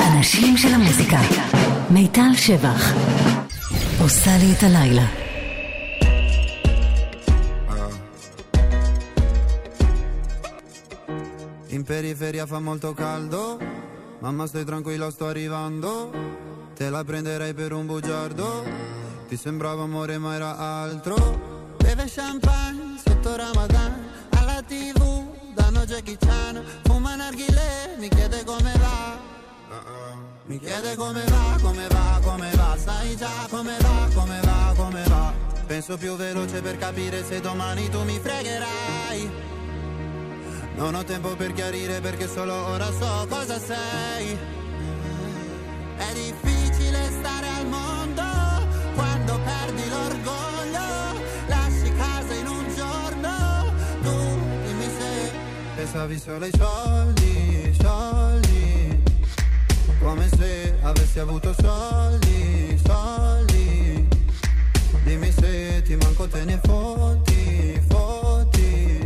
אנשים של המוזיקה. מיטל שבח עושה לי את הלילה. In periferia fa molto caldo, mamma stai tranquilla sto arrivando, te la prenderei per un bugiardo, ti sembrava amore ma era altro, beve champagne sotto Ramadan, alla TV danno Jackie Chan, fuma narghilè, mi chiede come va, mi chiede come va, come va, come va, sai già come va, come va, come va, penso più veloce per capire se domani tu mi fregherai. Non ho tempo per chiarire perché solo ora so cosa sei. È difficile stare al mondo quando perdi l'orgoglio. Lasci casa in un giorno, tu dimmi se pensavi solo ai soldi, soldi. Come se avessi avuto soldi, soldi. Dimmi se ti manco te ne fotti, fotti.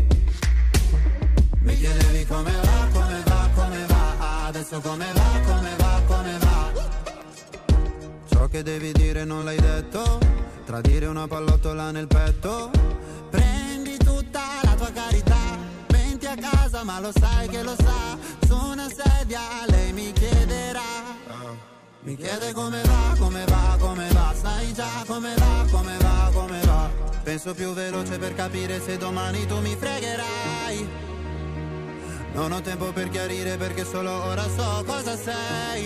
Mi chiedevi come va, come va, come va, adesso come va, come va, come va. Ciò che devi dire non l'hai detto, tradire una pallottola nel petto. Prendi tutta la tua carità, venti a casa ma lo sai che lo sa, su una sedia lei mi chiederà. Mi chiede come va, come va, come va, sai già come va, come va, come va. Penso più veloce per capire se domani tu mi fregherai. Non ho tempo per chiarire perché solo ora so cosa sei.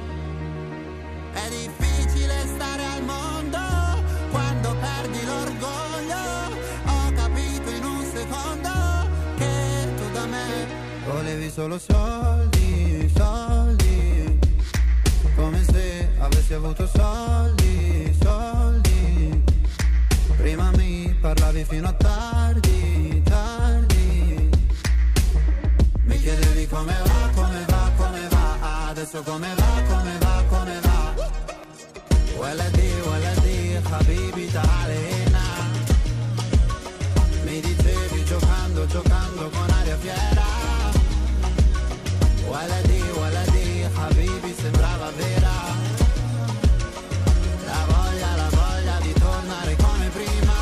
È difficile stare al mondo quando perdi l'orgoglio. Ho capito in un secondo che tu da me volevi solo soldi, soldi. Come se avessi avuto soldi, soldi. Prima mi parlavi fino a tardi, tardi. Mi chiedevi come va, come va, come va, adesso come va, come va, come va. Waladi, waladi, habibi ta'alena. Mi dicevi giocando, giocando con aria fiera. Waladi, waladi, habibi sembrava vera. La voglia di tornare come prima.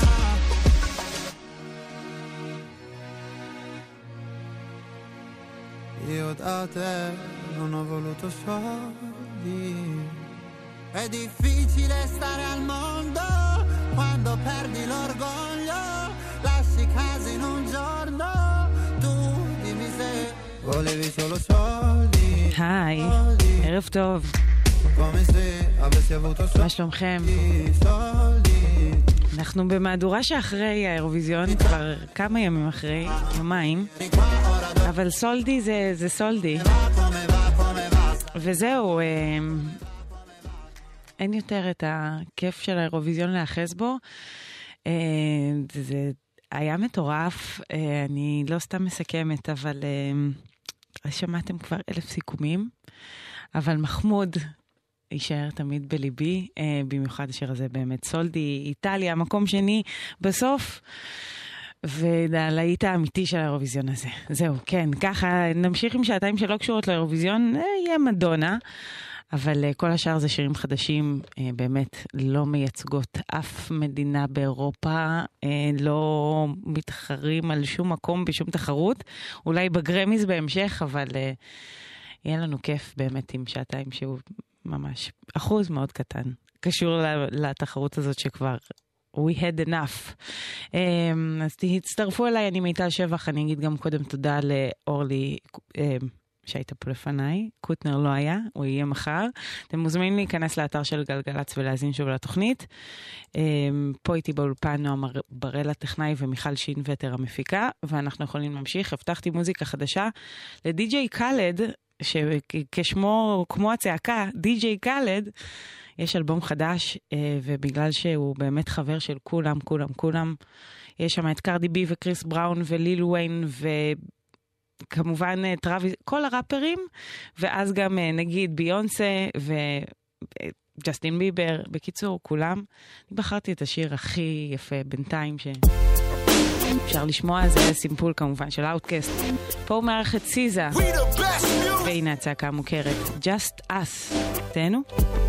Io da te non ho voluto soldi. È difficile stare al mondo quando perdi l'orgoglio. Lasci casa in un giorno, tu dimmi se volevi solo soldi. היי, ערב טוב. Come se avessi avuto soldi. מה שלומכם? אנחנו במהדורה שאחרי האירוויזיון, כבר כמה ימים אחרי, יומיים, אבל סולדי זה סולדי. וזהו, אין יותר את הכיף של האירוויזיון לאחז בו. זה היה מטורף, אני לא סתם מסכמת, אבל שמעתם כבר 1000 סיכומים, אבל מחמוד יישאר תמיד בליבי, במיוחד השיר הזה באמת סולדי, איטליה, מקום שני בסוף, והלהיט האמיתי של האירוויזיון הזה. זהו, כן, ככה נמשיך עם שעתיים שלא קשורות לאירוויזיון, יהיה מדונה, אבל כל השאר זה שירים חדשים, באמת לא מייצגות אף מדינה באירופה, לא מתחרים על שום מקום בשום תחרות, אולי בגרמיז בהמשך, אבל יהיה לנו כיף באמת עם שעתיים שהוא ממש אחוז מאוד קטן, קשור לתחרות הזאת שכבר we had enough. אז תצטרפו אליי, אני מיטל שבח, אני אגיד גם קודם תודה לאורלי שהייתה פה לפניי, קוטנר לא היה, הוא יהיה מחר. אתם מוזמנים להיכנס לאתר של גלגלץ ולהזין שוב לתוכנית. פה איתי באולפן נועם בראל הטכנאי ומיכל שינווטר המפיקה, ואנחנו יכולים להמשיך. הבטחתי מוזיקה חדשה לדי-ג'יי קלד, שכשמו, כמו הצעקה, די-ג'יי קלד, יש אלבום חדש, ובגלל שהוא באמת חבר של כולם, יש שם את קרדי בי וקריס בראון וליל וויין וכמובן טראביס, כל הראפרים, ואז גם נגיד ביונסה וג'סטין ביבר, בקיצור, כולם. אני בחרתי את השיר הכי יפה בינתיים אפשר לשמוע, זה היה סימפול כמובן של אאוטקאסט. פה הוא מארח את סיזה, והנה הצעקה המוכרת, Just Us. תהנו.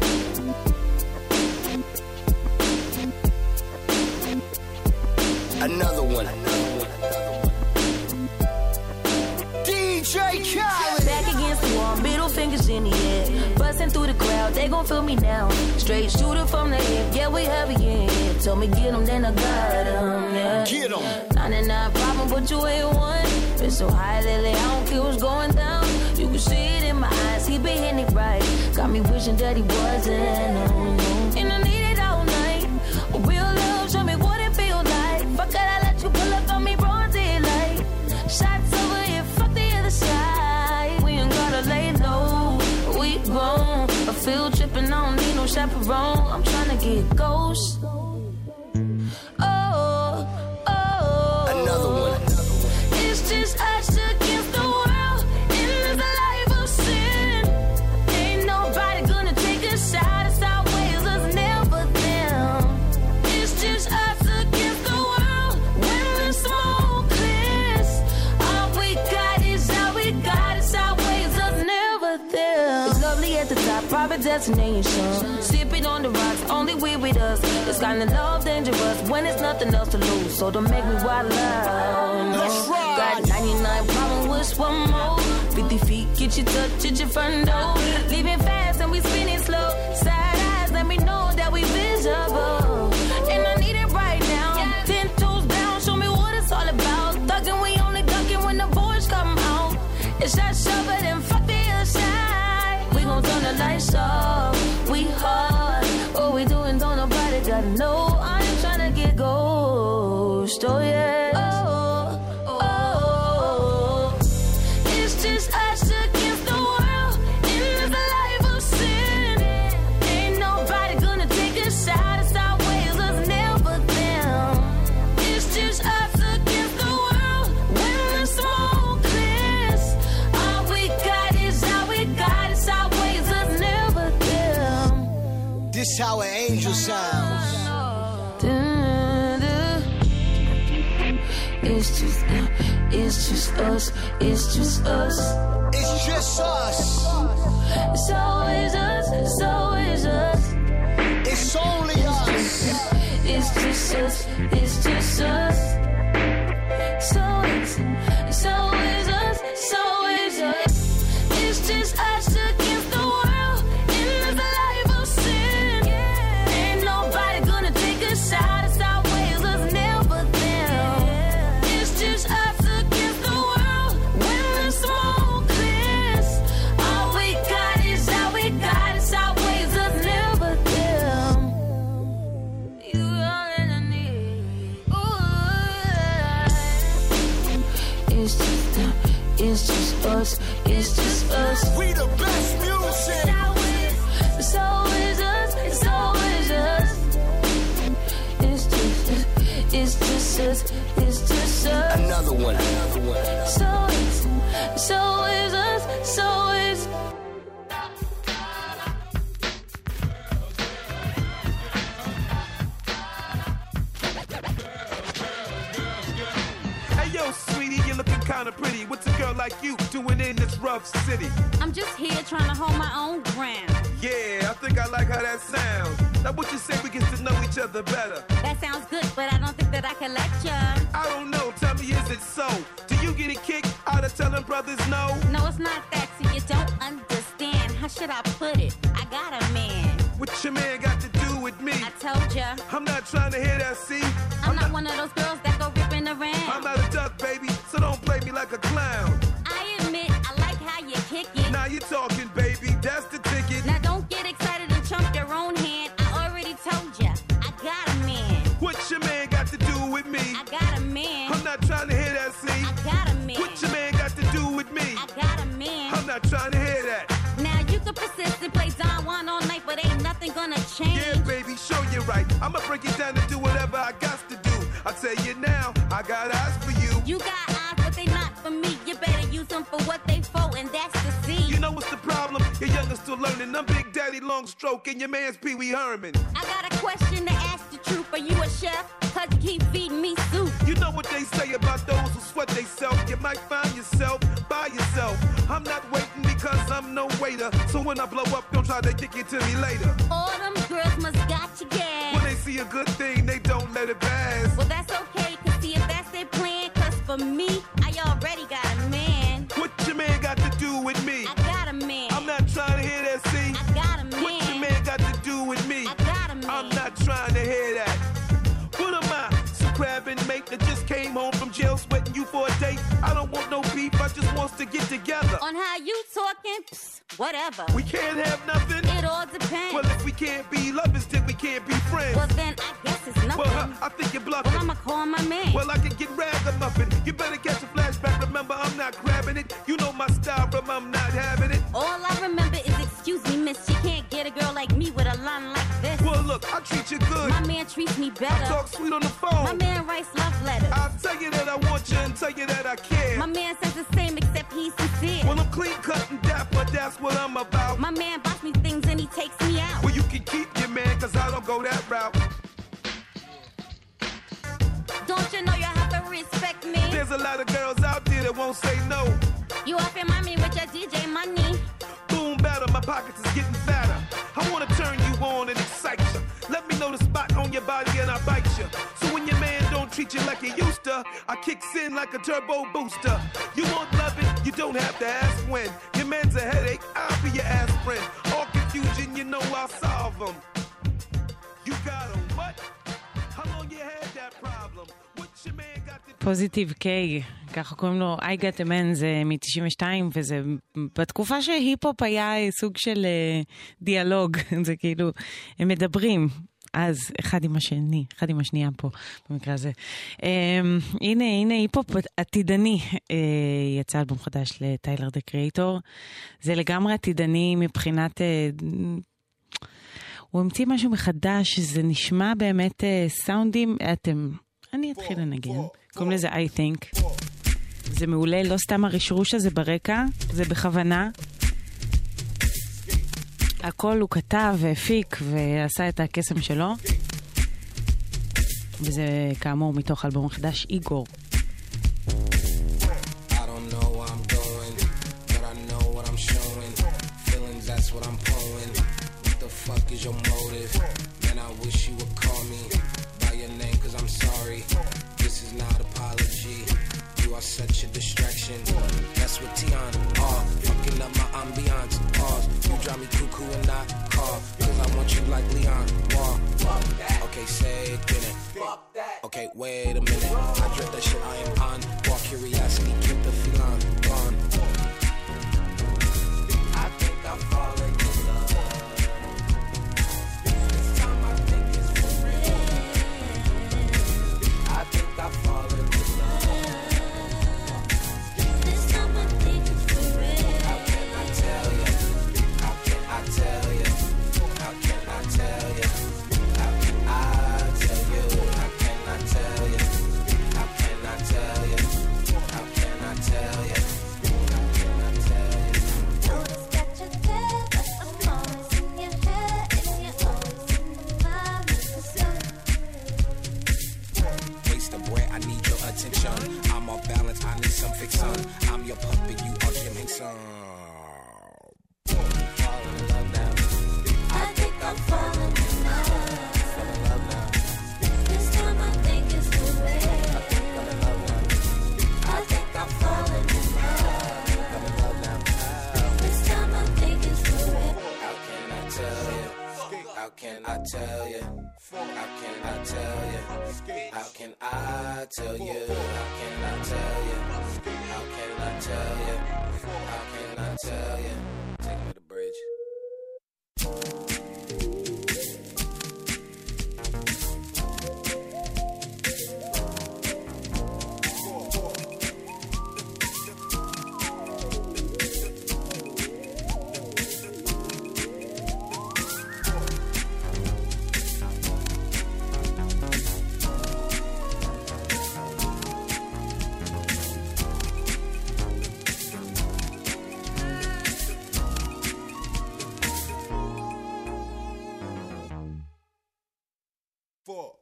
Another one. DJ Khaled. Back against the wall, middle fingers in the air. Busting through the crowd, they gon' feel me now. Straight shooter from the hip, yeah, we heavy, yeah. Told me get them, then I got them, yeah. Get them. 99 problem, but you ain't one. Been so high lately, I don't care what's going down. You can see it in my eyes, he been hitting it right. Got me wishing that he wasn't, no, no. And I need it all night. Real love, show me what it feels like. Fuck it, I let you pull up on me broad daylight. Shots over here, fuck the other side. We ain't gotta lay low, we grown. A field tripping, I don't need no chaperone. I'm tryna get ghost. Oh, oh. Another one. It's just us against the world in this life of sin. Ain't nobody gonna take a shot. It's our ways, us never them. It's just us against the world when the smoke clears. All we got is all we got. It's our ways, us never them. It's lovely at the top, private destination. Sipping on the rocks, only we with us. It's kind of love dangerous when there's nothing else to lose. So don't make me wild out. No. That's right. Got 99 problems with one more. 50 feet, get your touch at your front door. Leaving fast and we spinning slow. Side eyes, let me know that we visible. And I need it right now. 10 toes down, show me what it's all about. Thugging, we only ducking when the boys come out. It's that shovel and fuck the other side. We gon' turn the lights off. We hard. What we doing, don't nobody gotta know. I ain't tryna get ghost. Oh yeah. Oh, oh. It's just us against the world in this life of sin. Ain't nobody gonna take a shot. It's our ways, us never them. It's just us against the world when the smoke clears. All we got is all we got. It's our ways, us never them. This how an angel sounds. It's just us. It's just us. It's just us. It's always us. It's always us. It's only us. It's just us. It's just us. So it's always us. It's always us. It's just us against the world in this life of sin. Ain't nobody gonna take a shot. It's our ways, us never them. It's just us against the world when the smoke clears. All we got is all we got. It's our ways, us never them. You all that I need. Ooh. It's just us. It's just us. We the best music. It's always us. It's always us. It's just us. It's just us. It's just us. Another one. Another one. So it's us. So it's. Hey yo, sweetie, you're looking kinda pretty. What's a girl like you doing in this rough city? I'm just here trying to hold my own ground. Yeah, I think I like how that sounds. Now what you say we get to know each other better? That sounds good, but I don't think that I can let ya. I don't know, tell me is it so? Do you get a kick out of telling brothers no? No, it's not that, so you don't understand. How should I put it? I got a man. What your man got to do with me? I told ya. I'm not trying to hear that, see? I'm not one of those girls that go ripping around. I'm not a duck, baby, so don't play me like a clown. I admit I like how you kick it. Now you're talking, baby, that's the ticket. Now don't get excited and chump your own hand. I already told ya. I got a man. What your man got to do with me? I got a man. I'm not trying to hear that, see? I got a man. What your man got to do with me? I got a man. I'm not trying to hear that. Now you can persist and play Don Juan all night, but ain't nothing gonna change. Yeah, baby, show you right. I'ma break it down and do whatever I got to do. I tell you now, I got eyes for you. You got eyes, but they not for me. You better use them for what they for, and that's the seed. You know what's the problem? Yeah, young and still learning. I'm Big Daddy Longstroke and your man's Pee Wee Herman. I got a question to ask the truth. Are you a chef? Cause you keep feeding me soup. You know what they say about those who sweat they self. You might find yourself by yourself. I'm not waiting because I'm no waiter. So when I blow up, don't try to kick it to me later. All them girls must got you gas. When they see a good thing, they don't let it pass. Well, that's okay, cause see if that's their plan. Cause for me, I already got a man. What your man got to do with me? I got a man. I'm not trying to hear that, see? I got a man. What your man got to do with me? I got a man. I'm not trying to hear that. What am I? Some crabbing mate that just came home from jail sweating you for a date? I don't want no beef, I just want to get together. On how you talking, whatever. We can't have nothing? It all depends. Well, if we can't be lovers, then we can't be friends. Well, then I guess it's nothing. Well, I think you're bluffing. Well, I'ma call my man. Well, I can get ragamuffin. You better catch a flashback. Remember, I'm not grabbing it. You know my style from I'm not having it. All I remember is, excuse me, miss, you can't get a girl like me with a line like this. Well, look, I treat you good. My man treats me better. I talk sweet on the phone. My man writes love letters. I'll tell you that I want you and tell you that I care. My man says the same except he's sincere. Well, I'm clean cut and dapper, that's what I'm about. My man buys me things and he takes me out. Well, you can keep your man, cause I don't go that route. Don't you know you have to respect me? There's a lot of girls out there that won't say no. You up in mommy with your DJ money. Boom, batter, my pockets is getting fatter. I wanna turn you on and excite you. Let me know the spot on your body and I'll bite you. So when your man don't treat you like he used to, I kicks in like a turbo booster. You won't love it, you don't have to ask when. Your man's a headache, I'll be your aspirin. All confusion, you know I'll solve them. You got a what? How long you had that problem? What your man got to do? פוזיטיב קיי, ככה קוראים לו I Got a Man, זה מ-92, וזה בתקופה שהיפ-הופ היה סוג של דיאלוג, זה כאילו, הם מדברים אז אחד עם השני, אחד עם השנייה פה במקרה הזה. הנה היפ-הופ עתידני, יצא אלבום חדש לטיילר דה קריאטור, זה לגמרי עתידני מבחינת, הוא המציא משהו מחדש, זה נשמע באמת סאונדים, אני אתחיל לנגן, קוראים לזה I Think, זה מעולה, לא סתם הרשרוש הזה ברקע, זה בכוונה, הכל הוא כתב והפיק ועשה את הקסם שלו, וזה כאמור מתוך אלבום חדש איגור. Is your motive? Man, I wish you would call me by your name, cause I'm sorry. This is not apology. You are such a distraction. That's what Tiana are. Fucking up my ambiance. Pause. You drive me cuckoo and I call. Cause I want you like Leon. Wall. Okay, say it, get it. Okay, wait a minute. I dread that shit I am on. Walk curiosity, keep the feline gone. I think I'm falling in love. I've fallen in love. This time I think it's for real. How can I tell you? How can I tell you? How can I tell you? How can I tell you? How can I tell you? How can I tell you? How can I tell you? How can I tell you? Always got your head, but I'm always in your head, and you're always in my mind. Waste of bread, I need your attention. I'm off balance, I need some fiction. I'm your puppet, you are Jim Henson. Falling in love now. I think I'm falling in love. Falling in love now. This time I think it's for real. I think I'm in love now. I think I'm falling in love. I'm in love now. This time I think it's for real. How can I tell you? How can I tell you? How can I tell you? How can I tell you? How can I tell you? How can I tell you? How can I tell you? Take me to the bridge.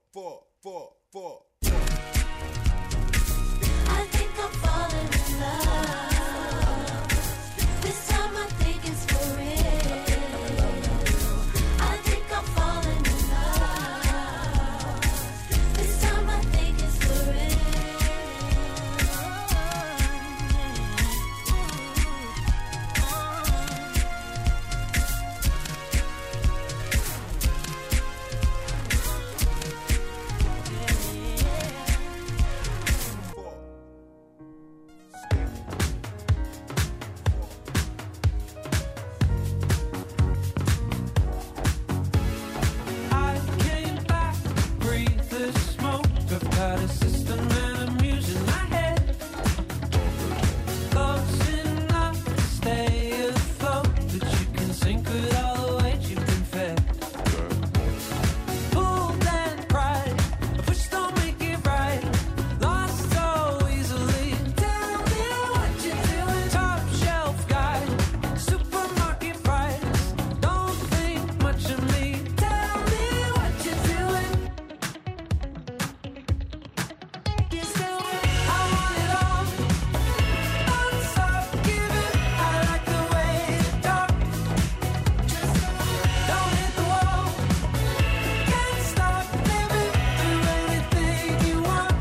I think I'm falling in love. This time I think it's for real. I think I'm falling in love. This time I think it's for I came back, breathe the smoke. I've got a system and I'm using my head. Close enough to stay afloat, but you can sink with all the weight you've been fed. Pulled and cried, a push don't make it right. Lost so easily. Tell me what you're doing. Top shelf guy, supermarket price. Don't think much of me. Tell me what you're doing. I want it all. Don't stop giving. I like the way you talk. Don't hit the wall. Can't stop living. Do anything you want.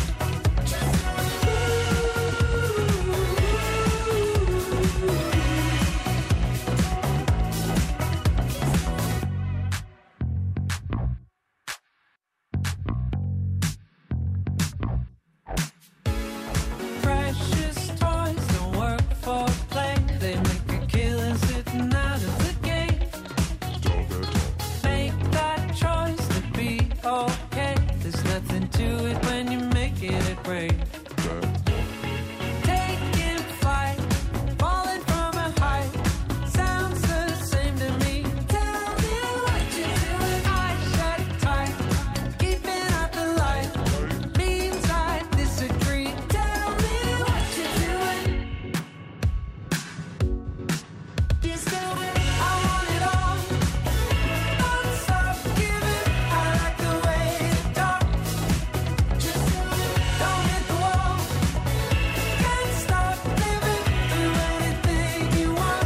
Precious toys don't work for play. They make a killing sitting out of the gate. Make that choice to be okay. There's nothing to it when you make it a break. Taking flight, falling from a height. Sounds the same to me. Tell me what you're doing. Eyes shut tight, keeping out the light. Means I disagree. Tell me what you're doing. I want it all. Don't stop giving. I like the way you talk. Don't hit the wall. Can't stop living. Do anything you want.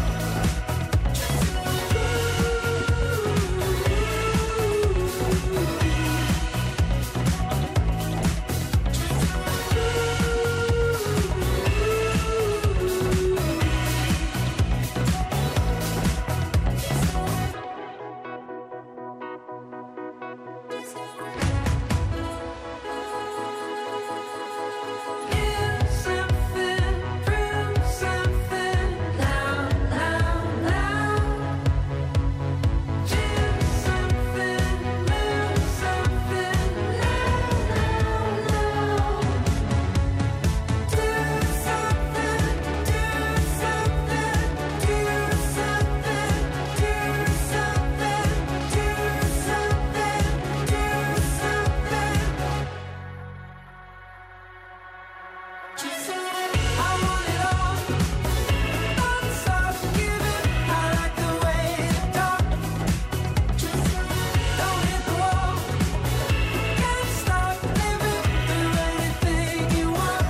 Give something, prove something. Now, now, now. Choose something, move something. Now, now, now. Do something, do something, do something, do something, do something, do something. I want it all. Don't stop giving. I like the way you talk. Don't hit the wall. Can't stop living. Do anything you want.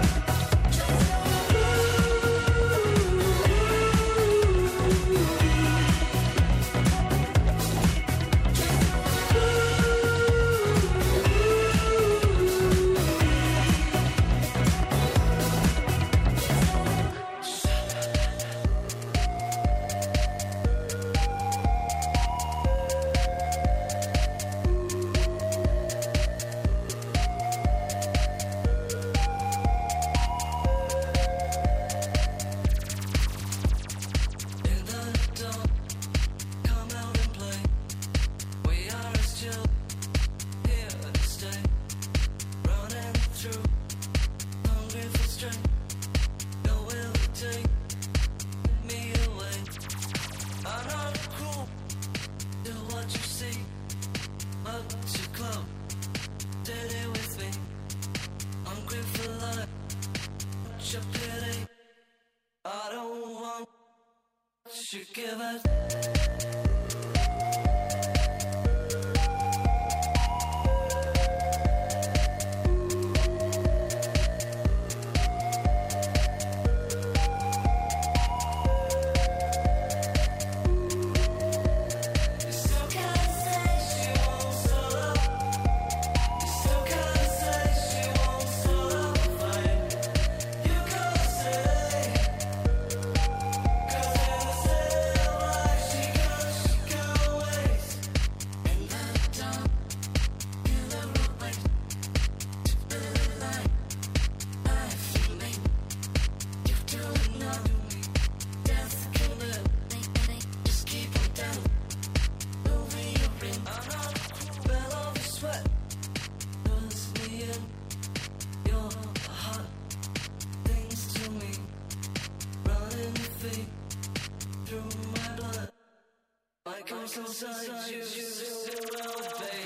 In the dawn, come out and play. We are still here to stay. Running through, hungry for strength. Your will take me away. I'm not cruel to what you see, but you're close. Steady with me, hungry for life. Your pity, I don't want you give it. comes inside you, baby.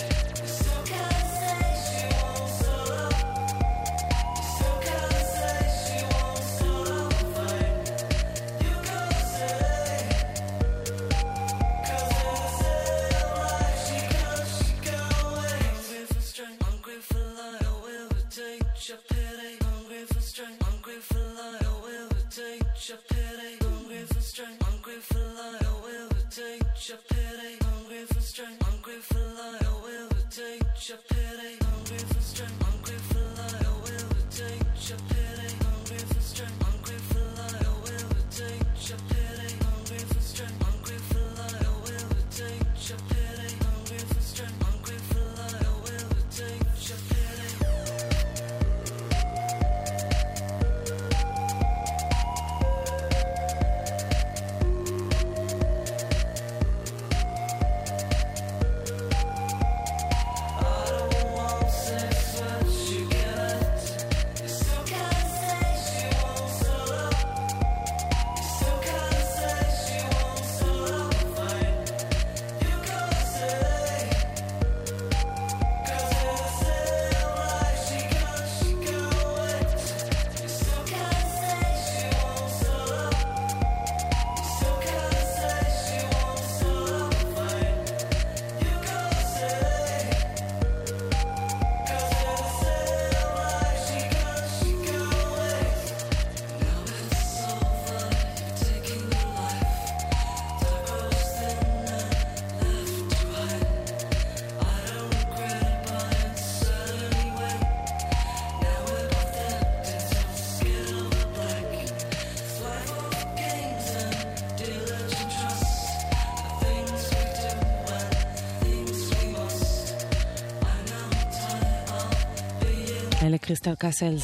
אלה קריסטל קאסלס.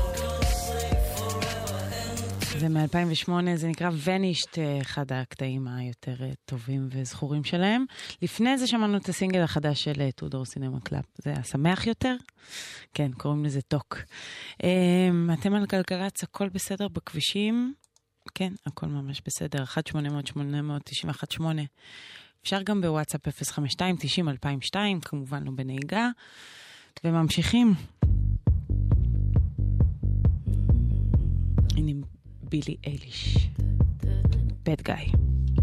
זה מ-2008, זה נקרא ונישט, אחד הקטעים היותר טובים וזכורים שלהם. לפני זה שמענו את הסינגל החדש של טודור סינמה קלאב. זה היה שמח יותר? כן, קוראים לזה טוק. אתם על גלגלצ, הכל בסדר בכבישים? כן, הכל ממש בסדר. 1-800-890-18. אפשר גם בוואטסאפ 052-90-2002, כמובן לא בנהיגה. וממשיכים. הנה בילי אייליש. Bad Guy.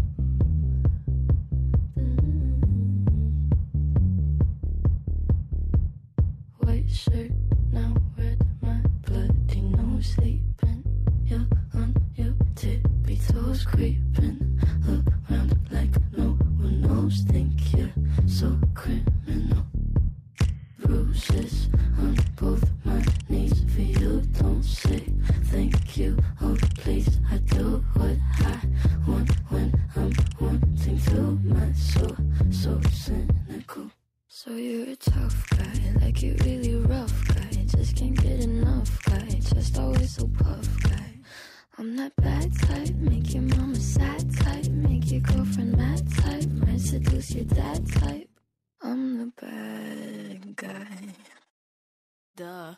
White shirt, now red, my bloody nose sleeping. You're on your tippy toes creeping around like no one knows. Think you're so criminal. Bruises on both my knees for you. Don't say thank you. Oh please, I do what I want when I'm wanting to. My soul so cynical. So you're a tough guy, like you really rough guy. Just can't get enough guy, just always so puff guy. I'm that bad type, make your mama sad type, make your girlfriend mad type, might seduce your dad type. I'm the bad guy. Duh.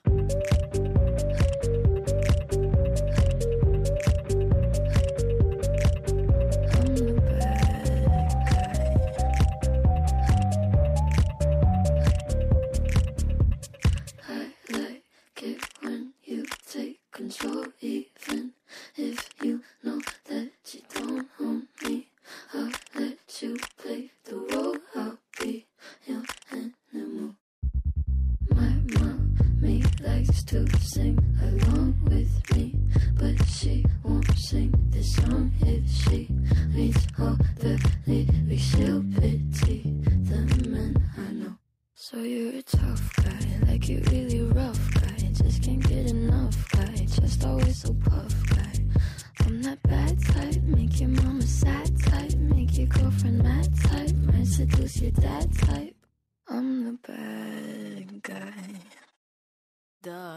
Control, even if you know that you don't own me. I'll let you play the role. I'll be your animal. My mommy likes to sing along with me, but she won't sing this song if she reads all the lyrics. She'll pity the men I know. So you're a tough guy, like you really rough guy. Just can't get enough guy, just always so puff guy. I'm that bad type, make your mama sad type, make your girlfriend mad type, might seduce your dad type. I'm the bad guy. Duh.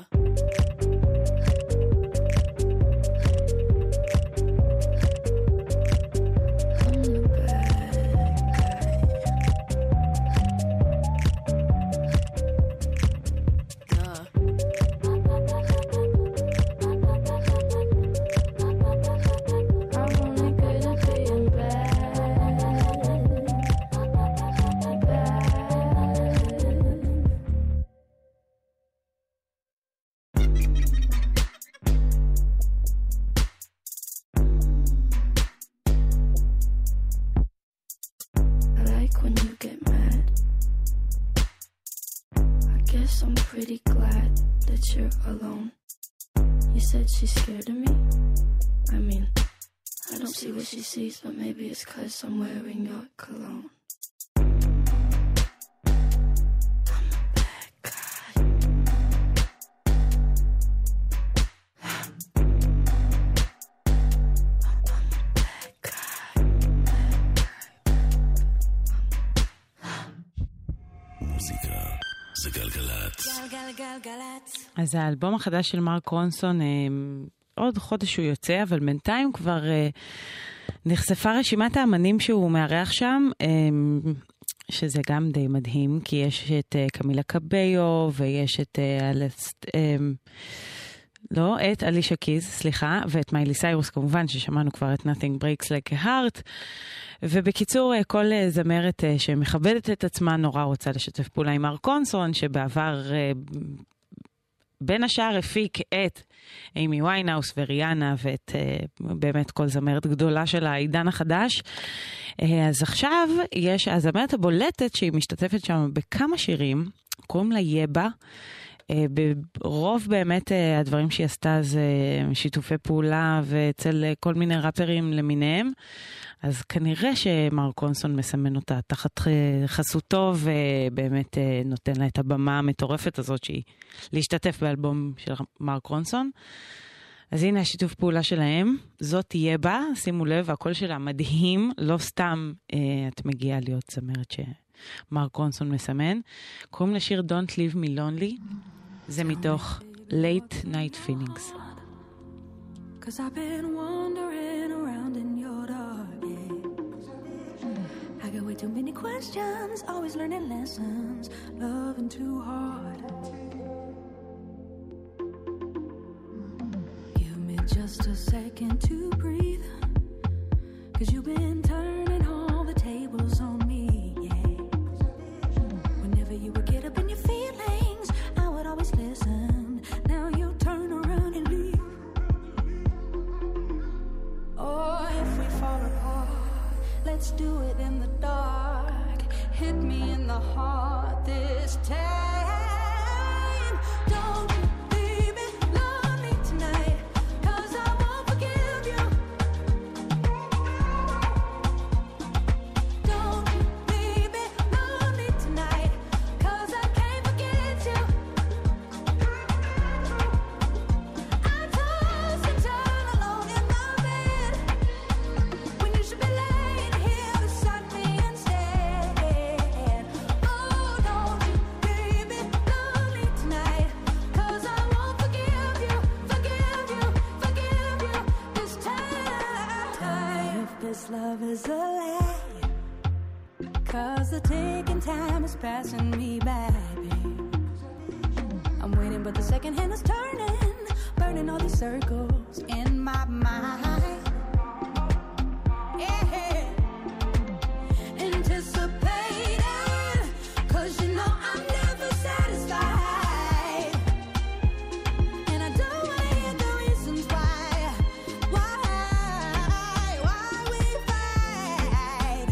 pretty glad that you're alone. You said she's scared of me. I mean, I don't see what she sees, but maybe it's 'cause I'm wearing your cologne. מוזיקה זה גלגלת. גלגלגלגלת. אז האלבום החדש של מרק רונסון, עוד חודש הוא יוצא, אבל בינתיים כבר נחשפה רשימת האמנים שהוא מארח שם, שזה גם די מדהים, כי יש את קמילה קביו, ויש את את אלישה קיז, סליחה, ואת מיילי סיירוס כמובן, ששמענו כבר את Nothing Breaks Like a Heart, ובקיצור, כל זמרת שמכבדת את עצמה נורא רוצה לשתף פעולה עם מרק רונסון, שבעבר בין השאר הפיק את אימי ויינהאוס וריאנה, ואת באמת כל זמרת גדולה של העידן החדש. אז עכשיו יש הזמרת הבולטת שהיא משתתפת שם בכמה שירים, קוראים לה יבה, ברוב באמת הדברים שהיא עשתה זה שיתופי פעולה ואצל כל מיני ראפרים למיניהם, אז כנראה שמרק רונסון מסמן אותה תחת חסותו ובאמת נותן לה את הבמה המטורפת הזאת שהיא להשתתף באלבום של מרק רונסון. אז הנה השיתוף פעולה שלהם, זאת תהיה בה, שימו לב, הקול שלה מדהים, לא סתם את מגיעה להיות זמרת שמרק רונסון מסמן. קוראים לשיר Don't Leave Me Lonely, זה מתוך Late Night Feelings. Cause I've been wandering around in your dark days. I got way too many questions, always learning lessons, loving too hard. Give me just a second to breathe, cause you've been turning all the tables on me, yeah. Whenever you would get up in your feelings, I would always listen. Now you turn around and leave. Oh, if we fall apart, let's do it in the dark. Hit me in the heart this time. Don't you leave me lonely tonight, 'cause I won't forgive you. Don't you leave me lonely tonight, 'cause I can't forget you. I toss and turn alone in my bed, when you should be laying here beside me instead. Oh, don't you leave me lonely tonight, 'cause I won't forgive you, forgive you, forgive you this time. If this love is a lie, 'cause the ticking time is passing me by, babe. I'm waiting, but the second hand is turning, burning all these circles in my mind. Yeah. Anticipating, 'cause you know I'm never satisfied. And I don't wanna hear the reasons why we fight.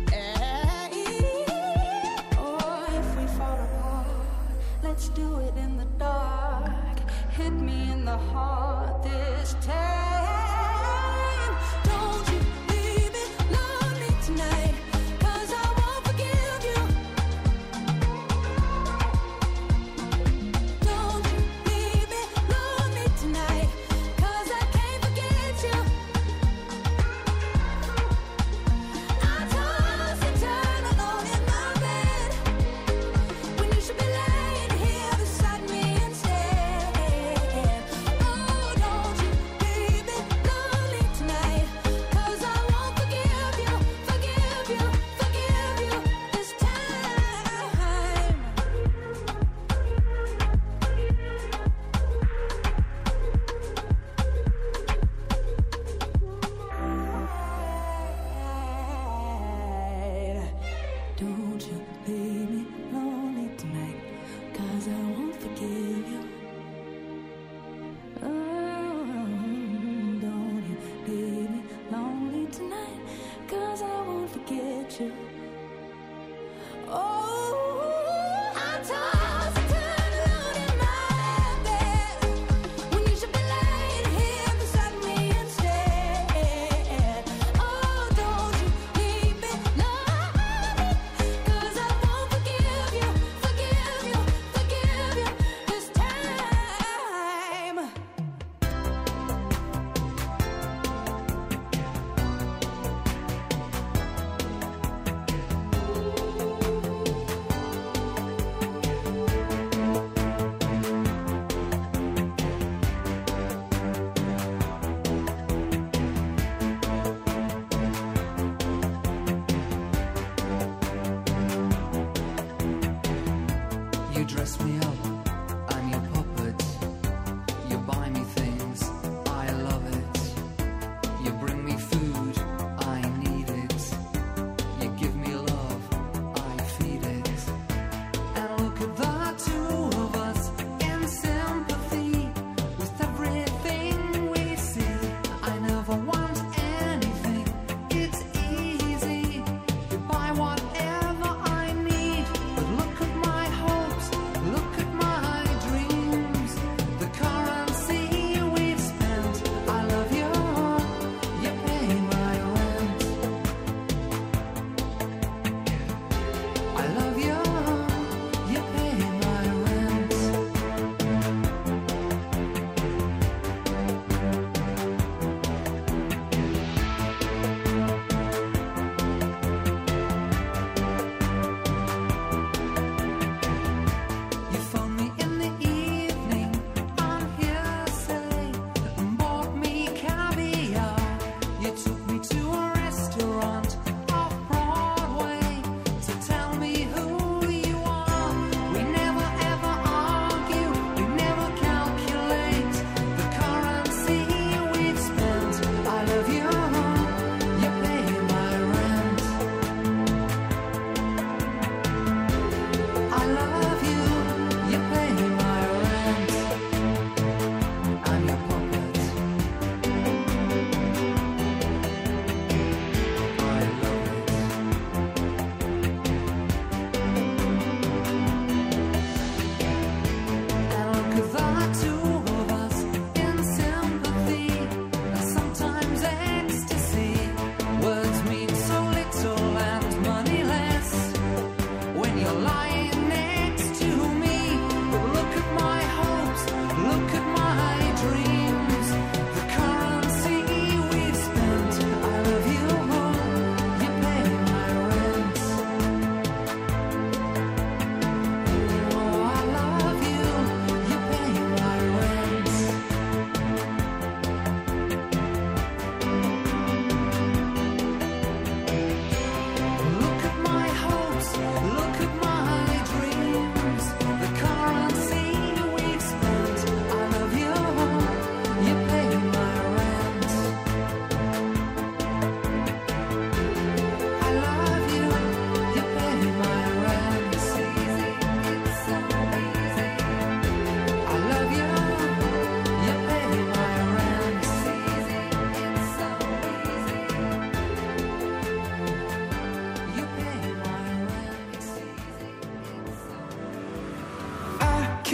Oh, if we fall apart, let's do it in the dark. Hit me in the heart this time. Don't you leave me lonely tonight, 'cause I won't forgive you. Don't you leave me lonely tonight, 'cause I can't forget you. I toss and turn alone in my bed, when you should be laying here beside me instead. Oh, don't you leave me lonely tonight, 'cause I won't forgive you, forgive you, forgive you this time. Don't you leave me lonely tonight, 'cause I won't forgive you. Oh, don't you leave me lonely tonight, 'cause I won't forget you. Oh, I toss and turn alone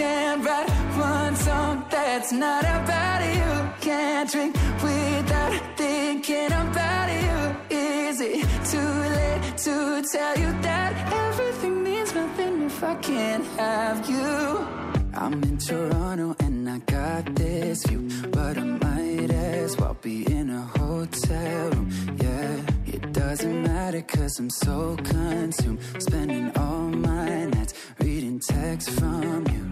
can't write one song that's not about you. Can't drink without thinking about you. Is it too late to tell you that everything means nothing if I can't have you? I'm in Toronto and I got this view, but I might as well be in a hotel room. Yeah, it doesn't matter 'cause I'm so consumed, spending all my nights reading texts from you.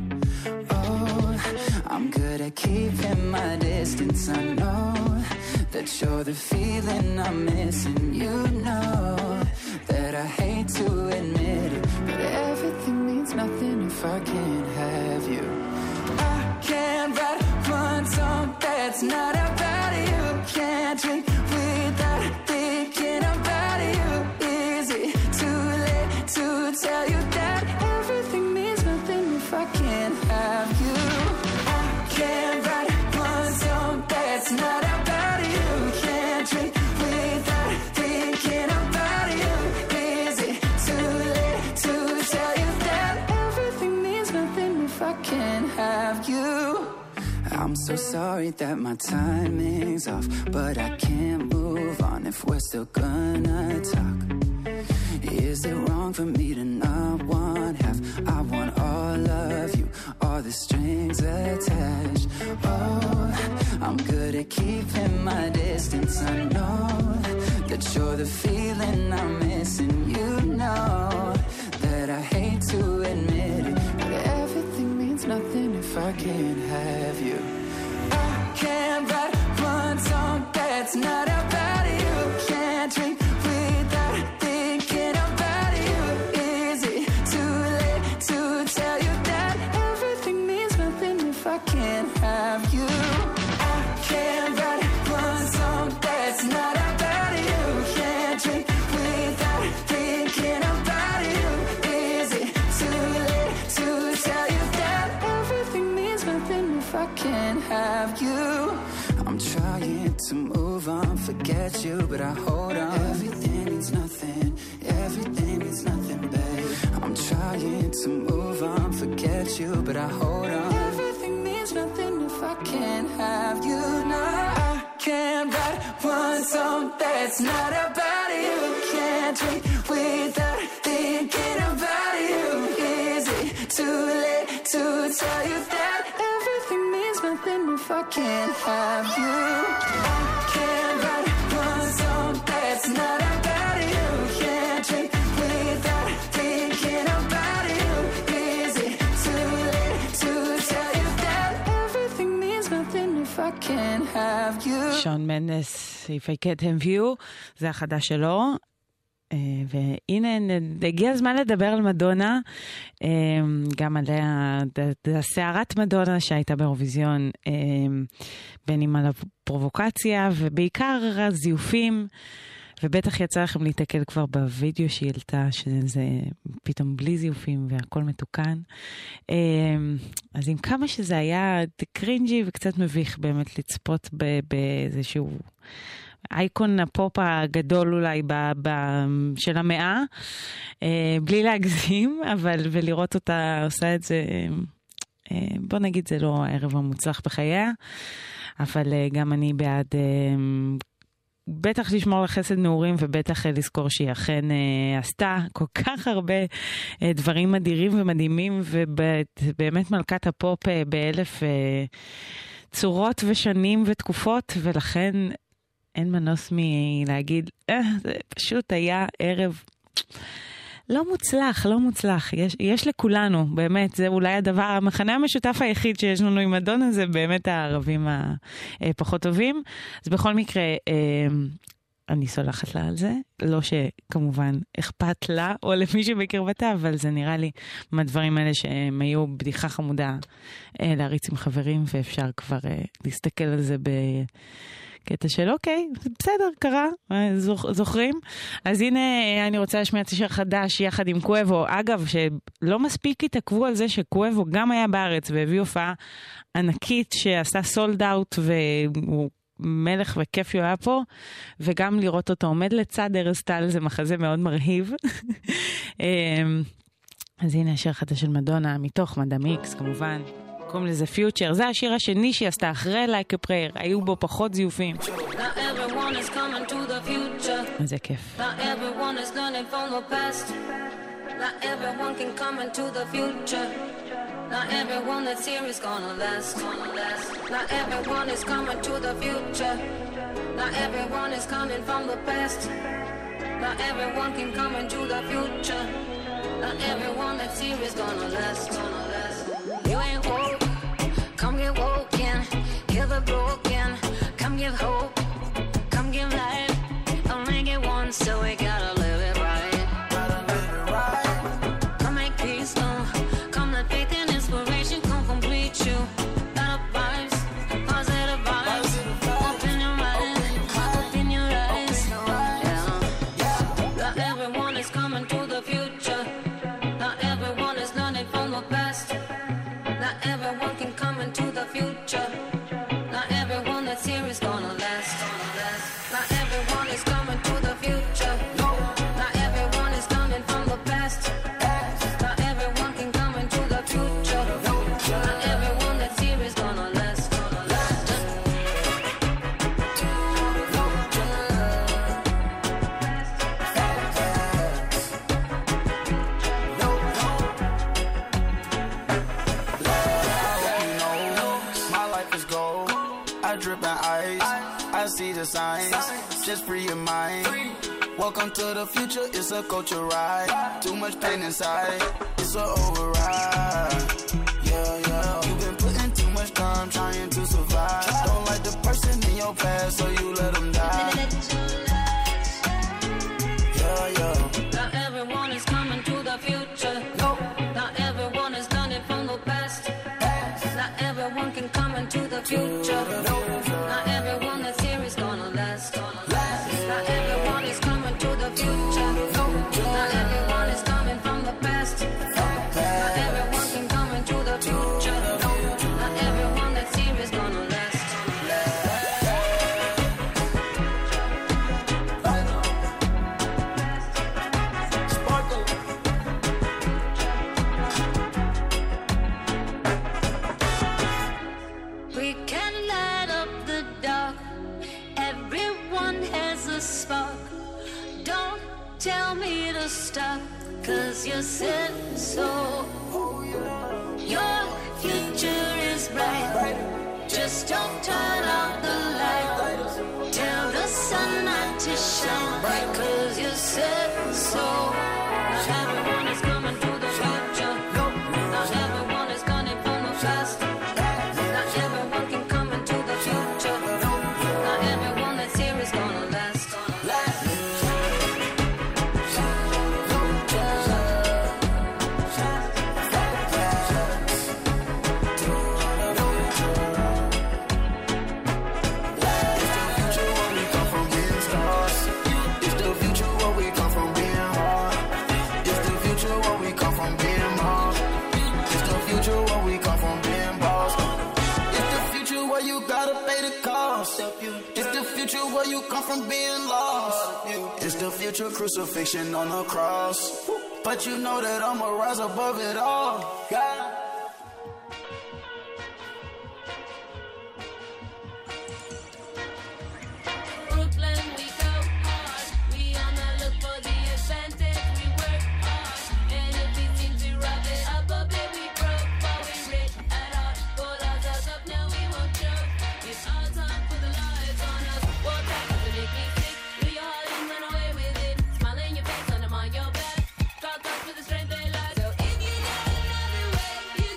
Oh, I'm good at keeping my distance. I know that you're the feeling I'm missing. You know that I hate to admit it, but everything means nothing if I can't have you. I can't write one song that's not about you. Can't drink without thinking about you. Is it too late to tell you that everything means nothing if I can't have you? I can't write one song that's not about you. Can't drink without thinking about you. Is it too late to tell you that everything means nothing if I can't have you? I'm so sorry that my timing's off, but I can't move on if we're still gonna talk. Is it wrong for me to not want half? I want all of you, all the strings attached. Oh, I'm good at keeping my distance. I know that you're the feeling I'm missing. You know that I hate to admit it, but everything means nothing if I can't have you. I can't write one song that's not about you. Can't drink without thinking about you. Is it too late to tell you that everything means nothing if I can't have you? I can't write one song that's not about you. Can't drink without thinking about you. Is it too late to tell you that everything means nothing if I can't have you? I'm trying to move on, forget you, but I hold on. Everything means nothing, everything means nothing, babe. I'm trying to move on, forget you, but I hold on. Everything means nothing if I can't have you. No, I can't write one song that's not about you. Can't drink without thinking about you. Is it too late to tell you that everything means nothing if I can't have you? I can't write one song that's not about you. Can't drink without thinking about you. Is it too late to tell you that everything means nothing if I can't have you? שון מנדס, If I Can't Have You, זה החדש שלו. והנה, הגיע הזמן לדבר על מדונה, גם עליה, הסערת מדונה שהייתה באירוויזיון, בין אם על הפרובוקציה, ובעיקר הזיופים, ובטח יצא לכם להתקל כבר בווידאו שהיא העלתה, שזה פתאום בלי זיופים והכל מתוקן. אז עם כמה שזה היה קרינג'י וקצת מביך באמת לצפות באיזשהו אייקון הפופ הגדול אולי של המאה, בלי להגזים, אבל ולראות אותה עושה את זה, בוא נגיד זה לא הערב המוצלח בחייה, אבל גם אני בעד בטח לשמור לחסד נעורים, ובטח לזכור שהיא אכן עשתה כל כך הרבה דברים מדירים ומדהימים, ובאמת מלכת הפופ באלף צורות ושנים ותקופות, ולכן אין מנוס מלהגיד, זה פשוט היה ערב לא מוצלח, לא מוצלח. יש לכולנו, באמת, זה אולי הדבר, המחנה המשותף היחיד שיש לנו עם מדונה, זה באמת הערבים הפחות טובים. אז בכל מקרה, אני סולחת לה על זה. לא שכמובן אכפת לה, או למי שבקרבתה, אבל זה נראה לי מהדברים האלה שהם היו בדיחה חמודה להריץ עם חברים, ואפשר כבר להסתכל על זה קטע של אוקיי, בסדר, קרה, זוכרים? אז הנה אני רוצה להשמיע את השיר חדש יחד עם קואבו. אגב, שלא מספיק התעכבו על זה שקואבו גם היה בארץ והביא הופעה ענקית שעשה סולד אאוט, והוא מלך וכיף הוא היה פה, וגם לראות אותו עומד לצד ארז טל זה מחזה מאוד מרהיב. אז הנה השיר חדש של מדונה, מתוך מדאם איקס כמובן. קוראים לזה פיוטר. זה השיר השני שהיא עשתה אחרי Like a Prayer. היו בו פחות זיופים. Now everyone is coming to the future. זה כיף. Now everyone is learning from the past. Now everyone can come into the future. Now everyone that's here is gonna last. Now everyone is coming to the future. Now everyone is coming from the past. Now everyone can come into the future. Now everyone that's here is gonna last. You ain't woke, come get woken. Heal the broken, come give hope, come give life. Only get once, so we gotta live it right. Come make peace, come let faith and inspiration come complete you. Better vibes, positive vibes. Open your mind, open your eyes. Yeah. Now everyone is coming to the future. Now everyone is learning from the past. Now everyone can come into the future. Now everyone that's here is gonna last. Now everyone is coming to the future. Now everyone is coming from the past. Now everyone can come into the future. Now everyone that's here is gonna last. My life is gold. I drip in ice. I see the signs. Just free your mind. Welcome to the future. It's a culture ride. Too much pain inside. It's a override. Yeah. You've been putting too much time trying to survive. Don't like the person in your past, so you let them die. Yeah. Now everyone is coming to the future. Now everyone is learning from the past. Now everyone can come into the future. Now everyone that's here is gonna last. Now everyone is coming to the future. Now everyone is coming from the past. Now everyone can come into the future. Now everyone that's here is gonna last. We can light up the dark. Everyone has a spark. Don't tell me to stop, 'cause you said so. Your future is bright. Just don't turn out the light. Tell the sun not to shine, 'cause you said so. Now everyone is coming to the future. Now everyone is coming from the past. Now everyone can come into the future. Now everyone that's here is gonna last. It's the future where we come from being hard. It's the future where we come from being hard. It's the future where we come from being boss. It's the future where you gotta pay the cost. It's the future where you come from being lost. It's the future crucifixion on the cross. But you know that I'ma rise above it all. Yeah. Brooklyn, we go hard. We on the look for the advantage. We work hard. And if it seems we rough it up a bit, we broke, but we rich at heart. Pull ourselves up, now we won't choke. It's our time for the lights on us. War tactics to make me sick. Do your heart and run away with it. Smile in your face, and I'm on your back. Got thoughts for the strength they lack. So if you got another way, you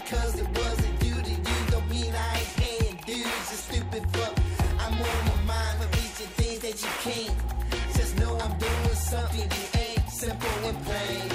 because it wasn't due to you. Don't mean I ain't paying dues. You stupid fuck. I'm on my mind for reaching things that you can't. Just know I'm doing something you ain't. Simple and plain.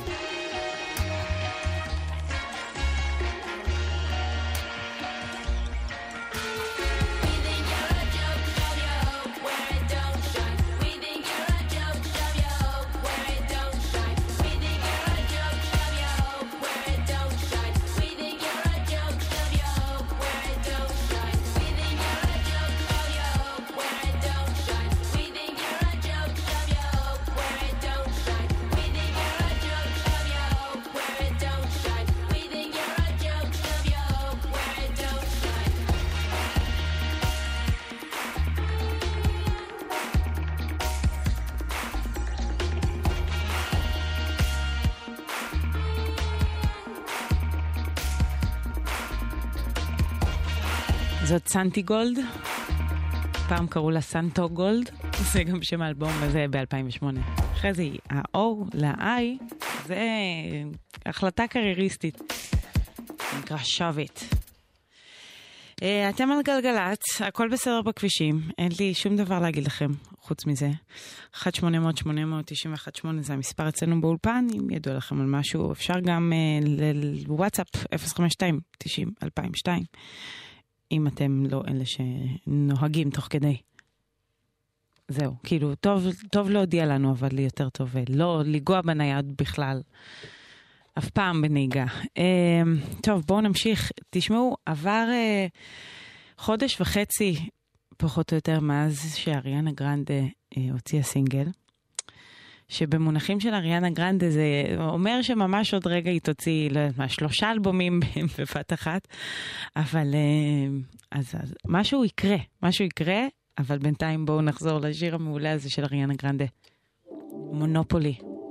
זאת סנטי גולד, פעם קראו לה סנטו גולד, זה גם שם האלבום, וזה ב-2008. אחרי זה ה-O ל-I, זה החלטה קרייריסטית, נקרא שווית. אתם על גלגלת, הכל בסדר בכבישים, אין לי שום דבר להגיד לכם חוץ מזה. 1-800-891-8 זה המספר אצלנו באולפן, אם ידוע לכם על משהו, אפשר גם לוואטסאפ 052-90-2002. אם אתם לא אלה שנוהגים תוך כדי. זהו, כאילו, טוב להודיע לנו, אבל יותר טוב לא לגוע בנייד בכלל. אף פעם בנהיגה. טוב, בואו נמשיך. תשמעו, עבר חודש וחצי, פחות או יותר, מאז שאריאנה גרנדה הוציאה סינגל, שבמונחים של אריאנה גרנדה זה אומר שממש עוד רגע היא תוציא, לא יודעת מה, 3 אלבומים בבת אחת, אבל אז משהו יקרה, אבל בינתיים בואו נחזור לשיר המעולה הזה של אריאנה גרנדה, מונופולי.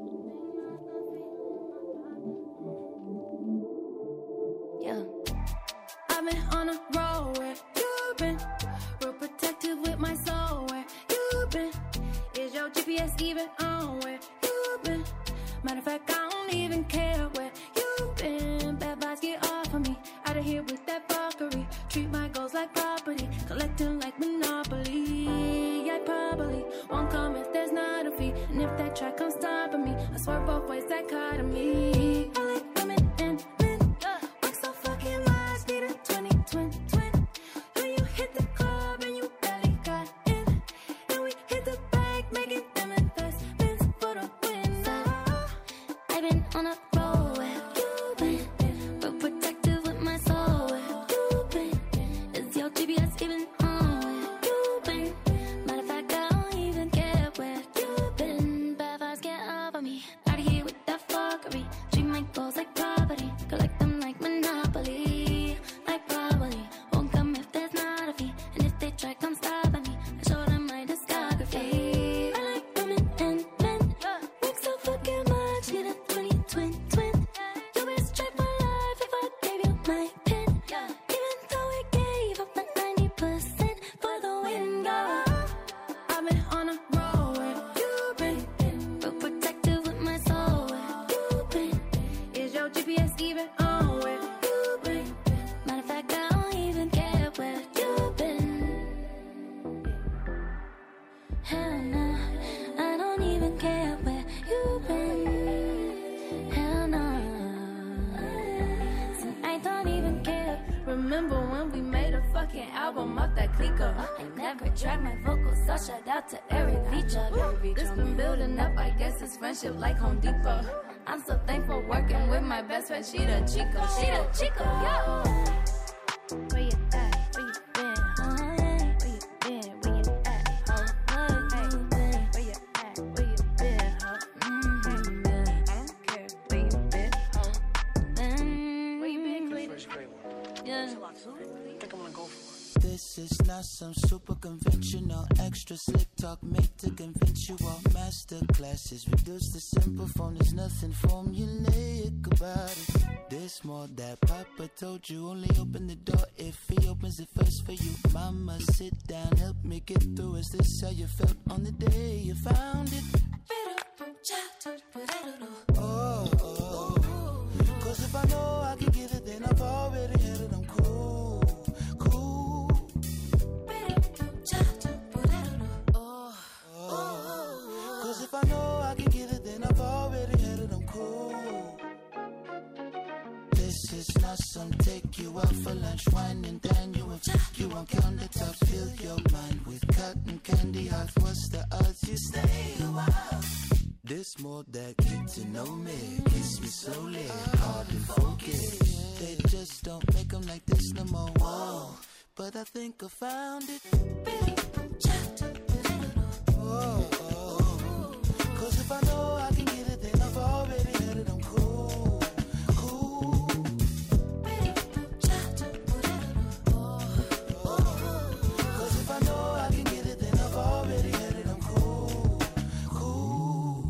I've been on a roll where you've been, real protective with my soul where you've been. Is your GPS even on where you've been? Matter of fact, I don't even care where you've been. Bad vibes get off of me, out of here with that fuckery. Treat my goals like property, collecting like Monopoly. I probably won't come if there's not a fee, and if that track comes stopping me, I swear both ways dichotomy. I like women and men, work so fucking much, need a 20-20. When you hit the club and you barely got in, and we hit the bank, making them investments for the win. So, I've been on a roll where you've been, real protective with my soul where you've been. Is your GPS even on where you've been? Matter of fact, I don't even care where you've been. Bad vibes get over me, out of here with that fuckery. Treat my goals like property, collect them like Monopoly. Like probably won't come if there's not a fee, and if they try come stopping me, I show them my discography. I like women and men, make so fucking much, need a 20-20. You best try my life if I gave you my pin, even though I gave up my 90% for the win. Go. I've been on a roll where you've been, real protective with my soul where you've been. Is your GPS even on where you've been? Matter of fact, I don't even care where you've been. Hell no, I don't even care where you've been. Hell no, so I don't even care. Remember when we made a fucking album off that clicker? I never tracked my vocals, so shout out to Eric Feature. This been building up, I guess it's friendship like Home Depot. I'm so thankful working with my best friend, she the Chico, yo. Where you at? Where you been? Where you been? Where you at? Where you been? Where you at? Where you been? I don't care where you been. Where you been, Cleveland? Yeah. This is not some super conventional extra slick talk made to convince you all. Master classes reduce the simple form. There's nothing formulaic about it. This more that Papa told you. Only open the door if he opens it first for you. Mama, sit down, help me get through. Is this how you felt on the day you found it? Oh, oh. Cause if I know I can give it, then I fall. some, take you out for lunch, wine and dine you and fuck you on countertops. Fill your mind with cotton candy hearts. What's the odds you stay a while? This more that get to know me. Kiss me slowly, hard and focus. They just don't make them like this no more. Whoa, but I think I found it. Oh, oh. Cause if I know I can get it, then I've already had it. I'm cool, cool. Cause if I know I can get it, then I've already had it. I'm cool, cool.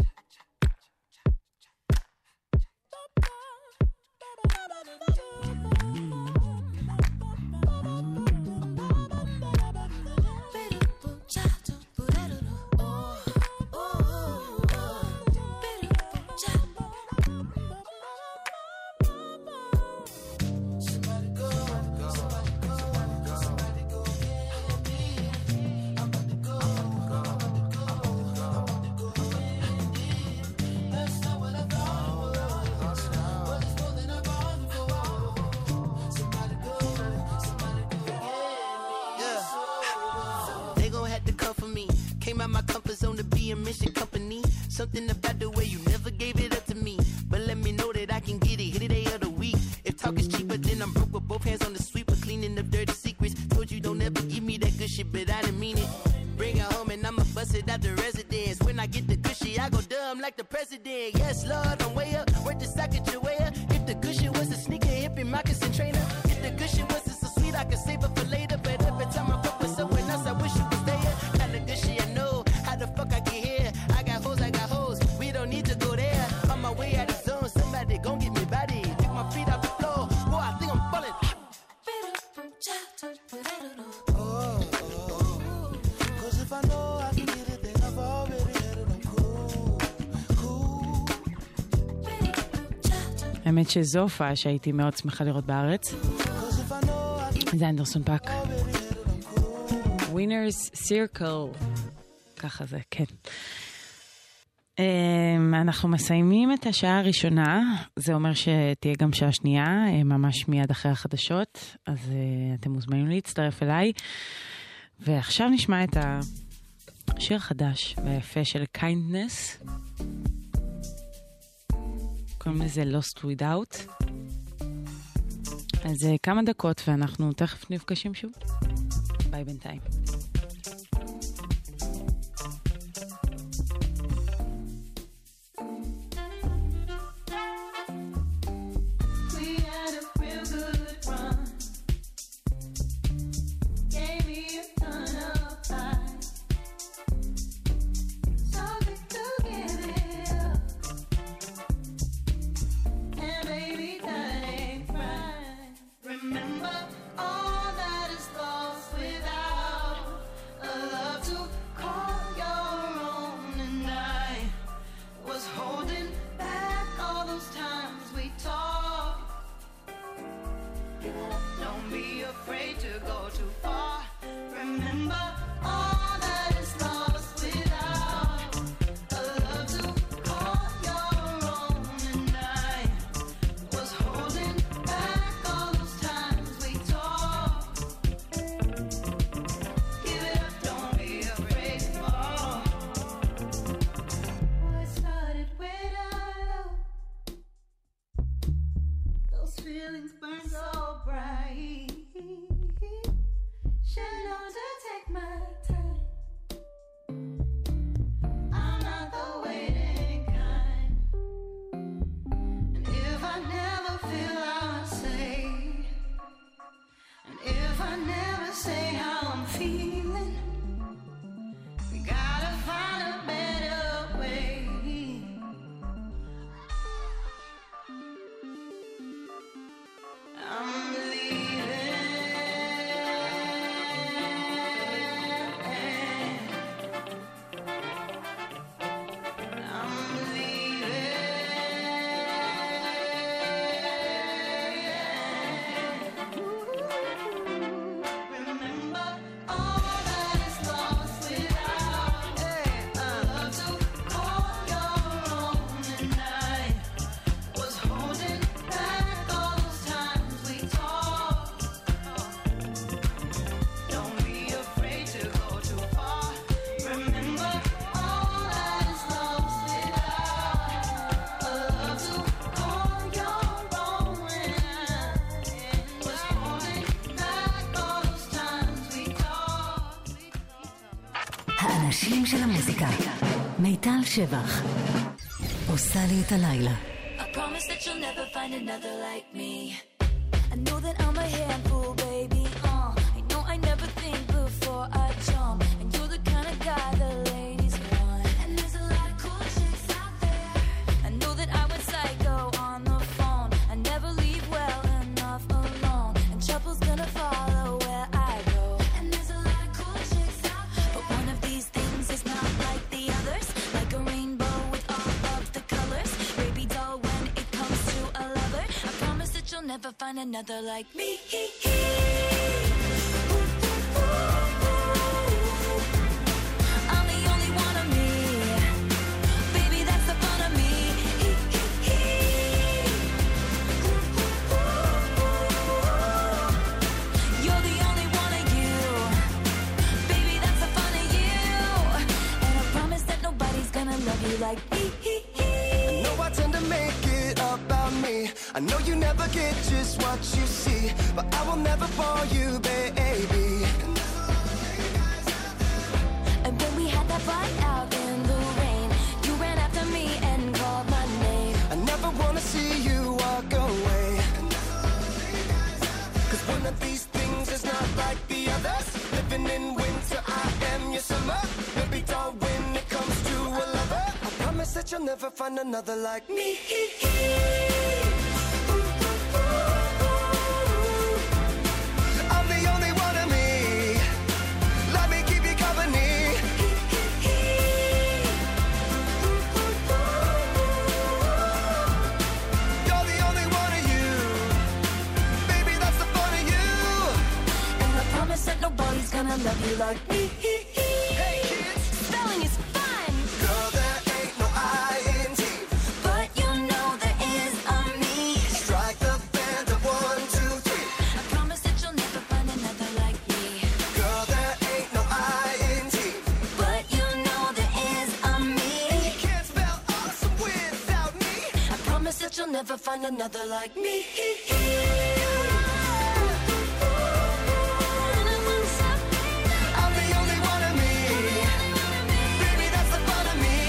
Something about the way you never gave it up to me. But let me know that I can get it. Hit it day of the week. If talk is cheaper, then I'm broke with both hands on the sweeper. Cleaning up dirty secrets. Told you don't ever give me that good shit, but I didn't mean it. Bring it home and I'ma bust it out the residence. When I get the good shit, I go dumb like the president. Yes, Lord, I'm way up. Worth the socket your way up. If the good shit was a sneaker, hippie, moccasin trainer. If the good shit was so sweet, I could save it for later. But every time I fuck with someone else, I wish you was there. Kinda good shit I know. How the fuck I get here? I got hoes. We don't need to go there. On my way out of zone, somebody gon' get me body. Take my feet off the floor. Boy, I think I'm falling. Oh, oh. Cause if I know I can get it, then I've already had it. I'm cool, cool. האמת שזו הופעה שהייתי מאוד שמחה לראות בארץ. זה אנדרסון פאק. Winners Circle. ככה זה, כן. אנחנו מסיימים את השעה הראשונה, זה אומר שתהיה גם שעה שנייה, ממש מיד אחרי החדשות, אז אתם מוזמנים להצטרף אליי. ועכשיו נשמע את השיר החדש והיפה של Kindness, קוראים לזה Lost Without. אז כמה דקות ואנחנו תכף נפגשים שוב. ביי בינתיים. Remember all that is lost without I'm leaving. האנשים של המוזיקה. מיטל שבח. עושה לי את הלילה. I promise that you'll never find another like me. I know that I'm a handful, baby. I know I never think before I jump. And you're the kind of guy the ladies want. And there's a lot of cool chicks out there. I know that I went psycho on the phone. I never leave well enough alone. And trouble's gonna follow where I go. And there's a lot of cool chicks out there. But one of these things is not like the others. Like a rainbow with all of the colors. Baby doll, when it comes to a lover, I promise that you'll never find another like me. I'm the only one of me. Baby, that's the fun of me. You're the only one of you. Baby, that's the fun of you. And I promise that nobody's gonna love you like me. I know I tend to make it about me. I know you never get just what you see, but I will never fall you, baby. And when we had that fight out in the rain, you ran after me and called my name. I never wanna see you walk away. Cause one of these things is not like the others. Living in winter, I am your summer. Maybe doll when it comes to a lover. I promise that you'll never find another like me. I'm the only one of me. Let me keep you company. You're the only one of you. Baby, that's the fun of you. And I promise that nobody's gonna love you like me. Hey kids, Spelling is fun, girl, there ain't no I-N-T. but you know there is a me. Strike the band of 1, 2, 3. I promise that you'll never find another like me. Girl, there ain't no I-N-T. But you know there is a me. You can't spell awesome without me. I promise that you'll never find another like me. I'm the only one of me. Baby, that's the fun of me.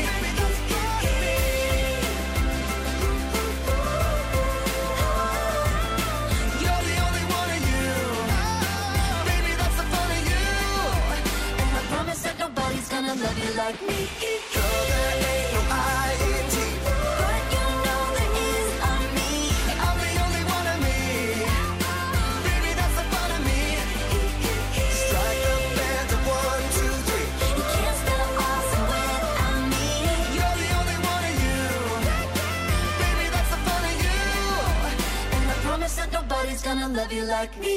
You're the only one of you. Baby, that's the fun of you. And I promise that nobody's gonna love you like me. Girl, there ain't no I-N-T. But you know there is a me. I'm the only one of me. Baby, that's the fun of me. Strike the band of 1, 2, 3. You can't spell awesome without me. You're the only one of you. Baby, that's the fun of you. And I promise that nobody's gonna love you like me.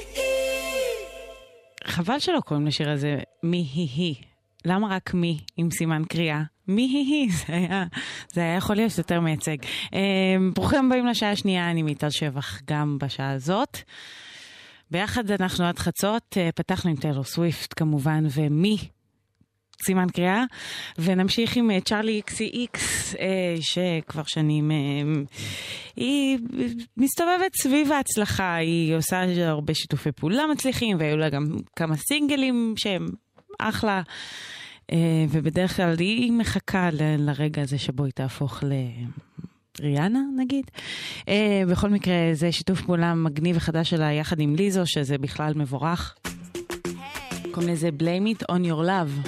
חבל שלא קוראים לשיר הזה מי היא. למה רק מי עם סימן קריאה? מי היא? זה היה יכול להיות יותר מייצג. ברוכים הבאים לשעה השנייה, אני מיטל שבח גם בשעה הזאת. ביחד אנחנו עד חצות, פתחנו עם טיילור סוויפט כמובן, ומי? סימן קריאה, ונמשיך עם צ'ארלי XCX, שכבר שנים היא מסתובבת סביב ההצלחה, היא עושה הרבה שיתופי פעולה מצליחים, והיו לה גם כמה סינגלים שהם אחלה, ובדרך כלל היא מחכה לרגע הזה שבו היא תהפוך ריאנה נגיד. בכל מקרה זה שיתוף פעולה מגניב וחדש שלה יחד עם ליזו, שזה בכלל מבורך. קוראים לזה Blame It On Your Love.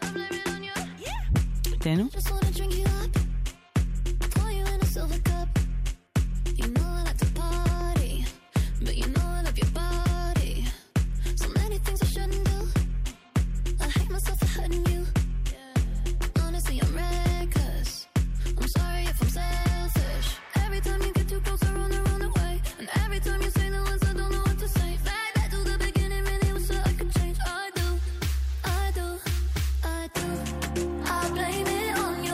תנו. Just wanna drink you up, pour you in a silver cup. You know I like to party, but you know I love your body. So many things I shouldn't do. I hate myself for hurting you. Honestly, I'm reckless. I'm sorry if I'm selfish. Every time you get too close, I run away. And every time you say the words, I don't know what to say. Fly back to the beginning, really was so I could change. I do. I blame it on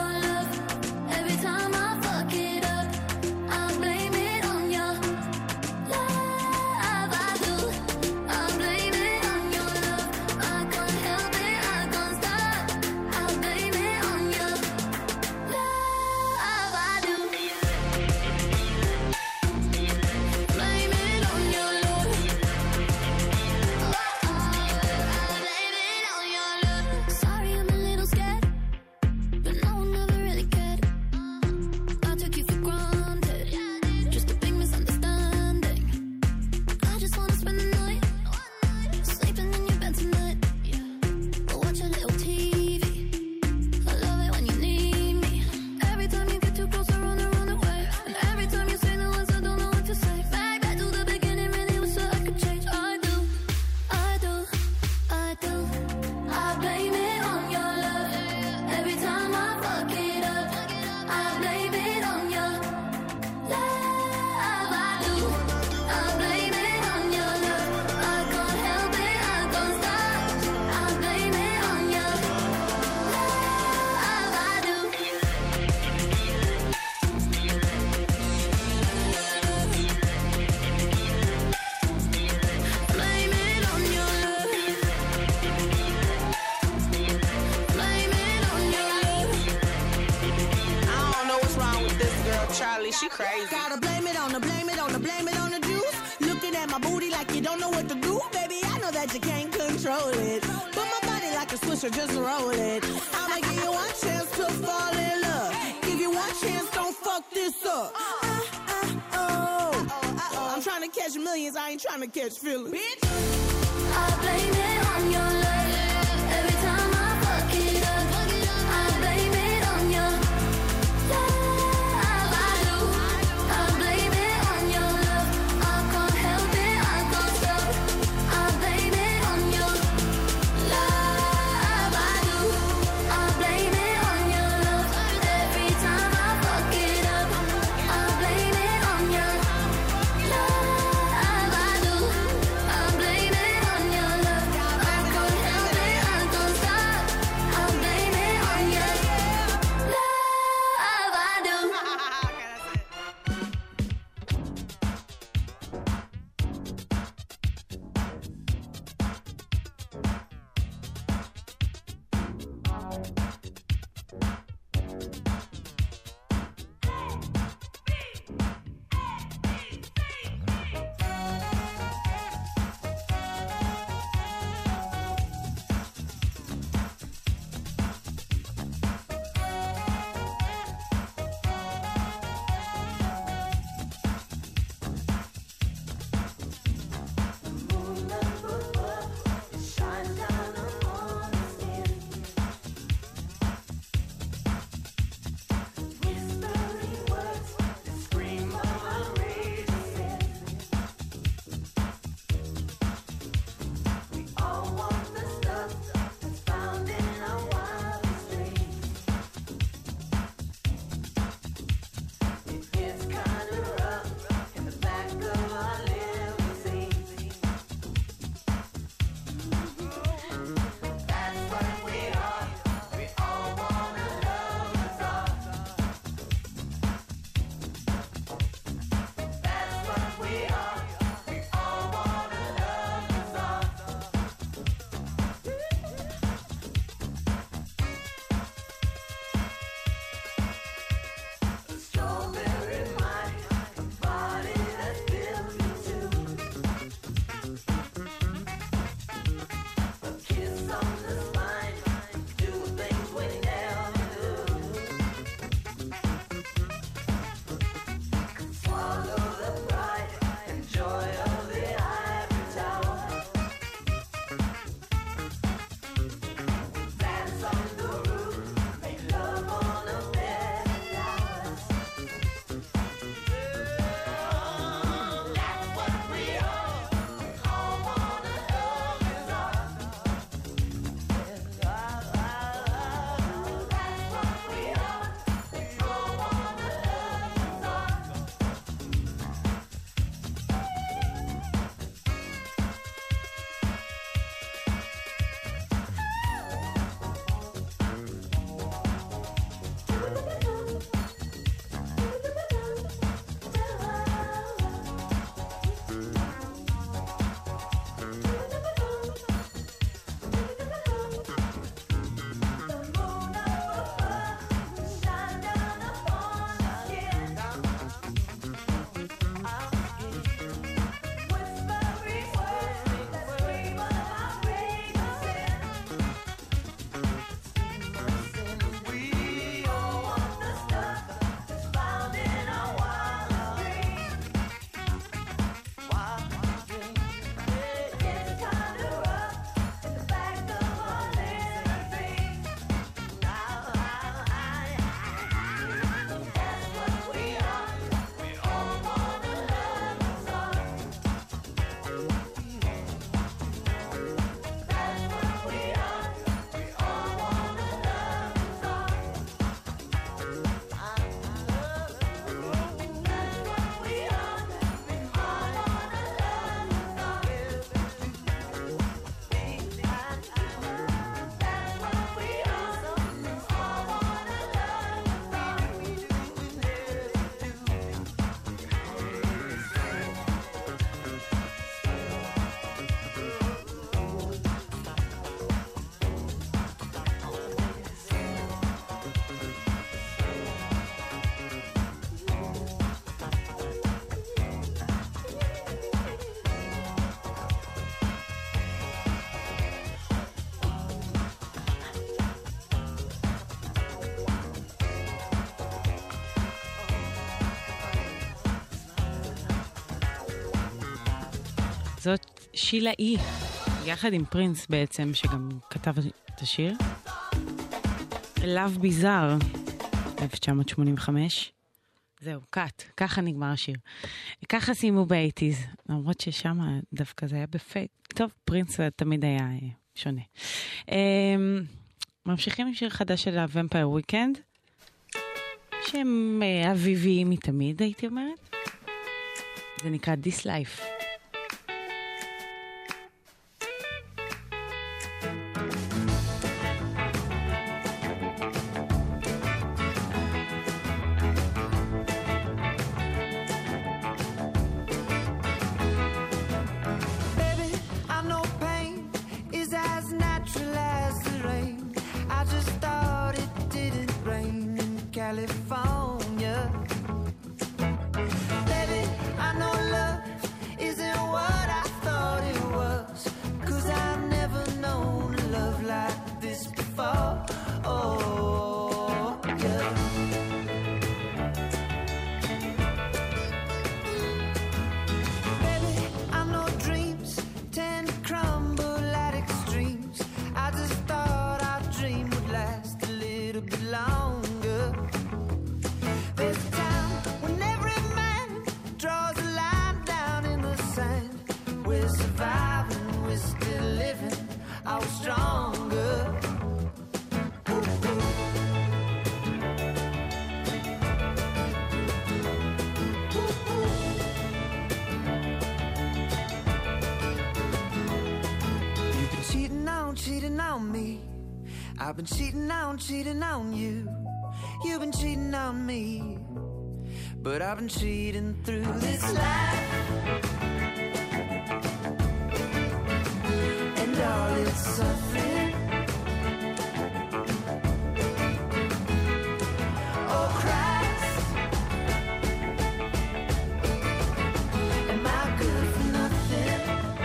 She crazy. Gotta blame it on the, blame it on the, blame it on the juice. Looking at my booty like you don't know what to do. Baby, I know that you can't control it. Put my body like a swisher, just roll it. I'ma give you one chance to fall in love. Give you one chance, don't fuck this up. I'm trying to catch millions, I ain't trying to catch feelings. Bitch. I blame it on your love. Every time I fuck it up, I blame it on your love. I do. I blame it on your love. I can't help it, I can't stop. I blame it on your love. I do. I blame it on your love. Every time I fuck it up, I blame it on your love. I do. I blame it on your love. I can't help it. זאת שילה אי, יחד עם פרינס בעצם, שגם כתב את השיר. Love Bizarre, 1985. זהו, קאט, ככה נגמר השיר. ככה סיימו ב-80s, למרות ששם דווקא זה היה בפייק. טוב, פרינס תמיד היה שונה. ממשיכים עם שיר חדש של הוומפייר וויקנד, שהם אביביים מתמיד, הייתי אומרת. זה נקרא This Life. I've been cheating on you. You've been cheating on me. But I've been cheating through this life. And all its suffering. Oh Christ, am I good for nothing?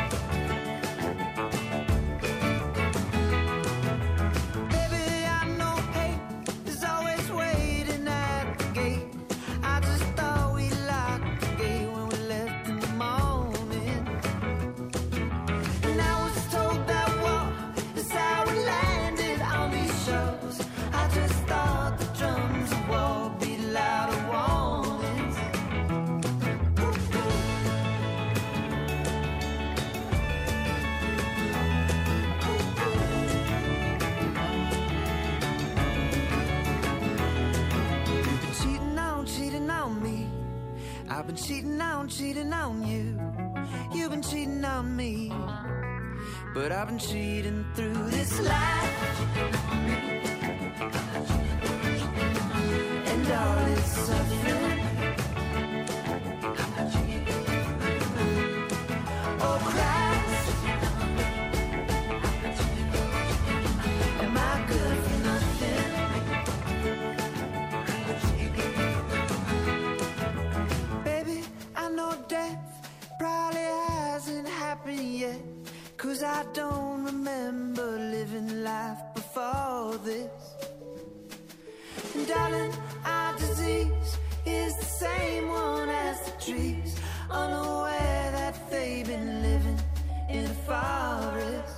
I've been cheating on you. You've been cheating on me. But I've been cheating through this life. And all its suffering. Oh Christ, am I good for nothing? Probably hasn't happened yet, 'cause I don't remember living life before this. And darling, our disease is the same one as the trees, unaware that they've been living in a forest.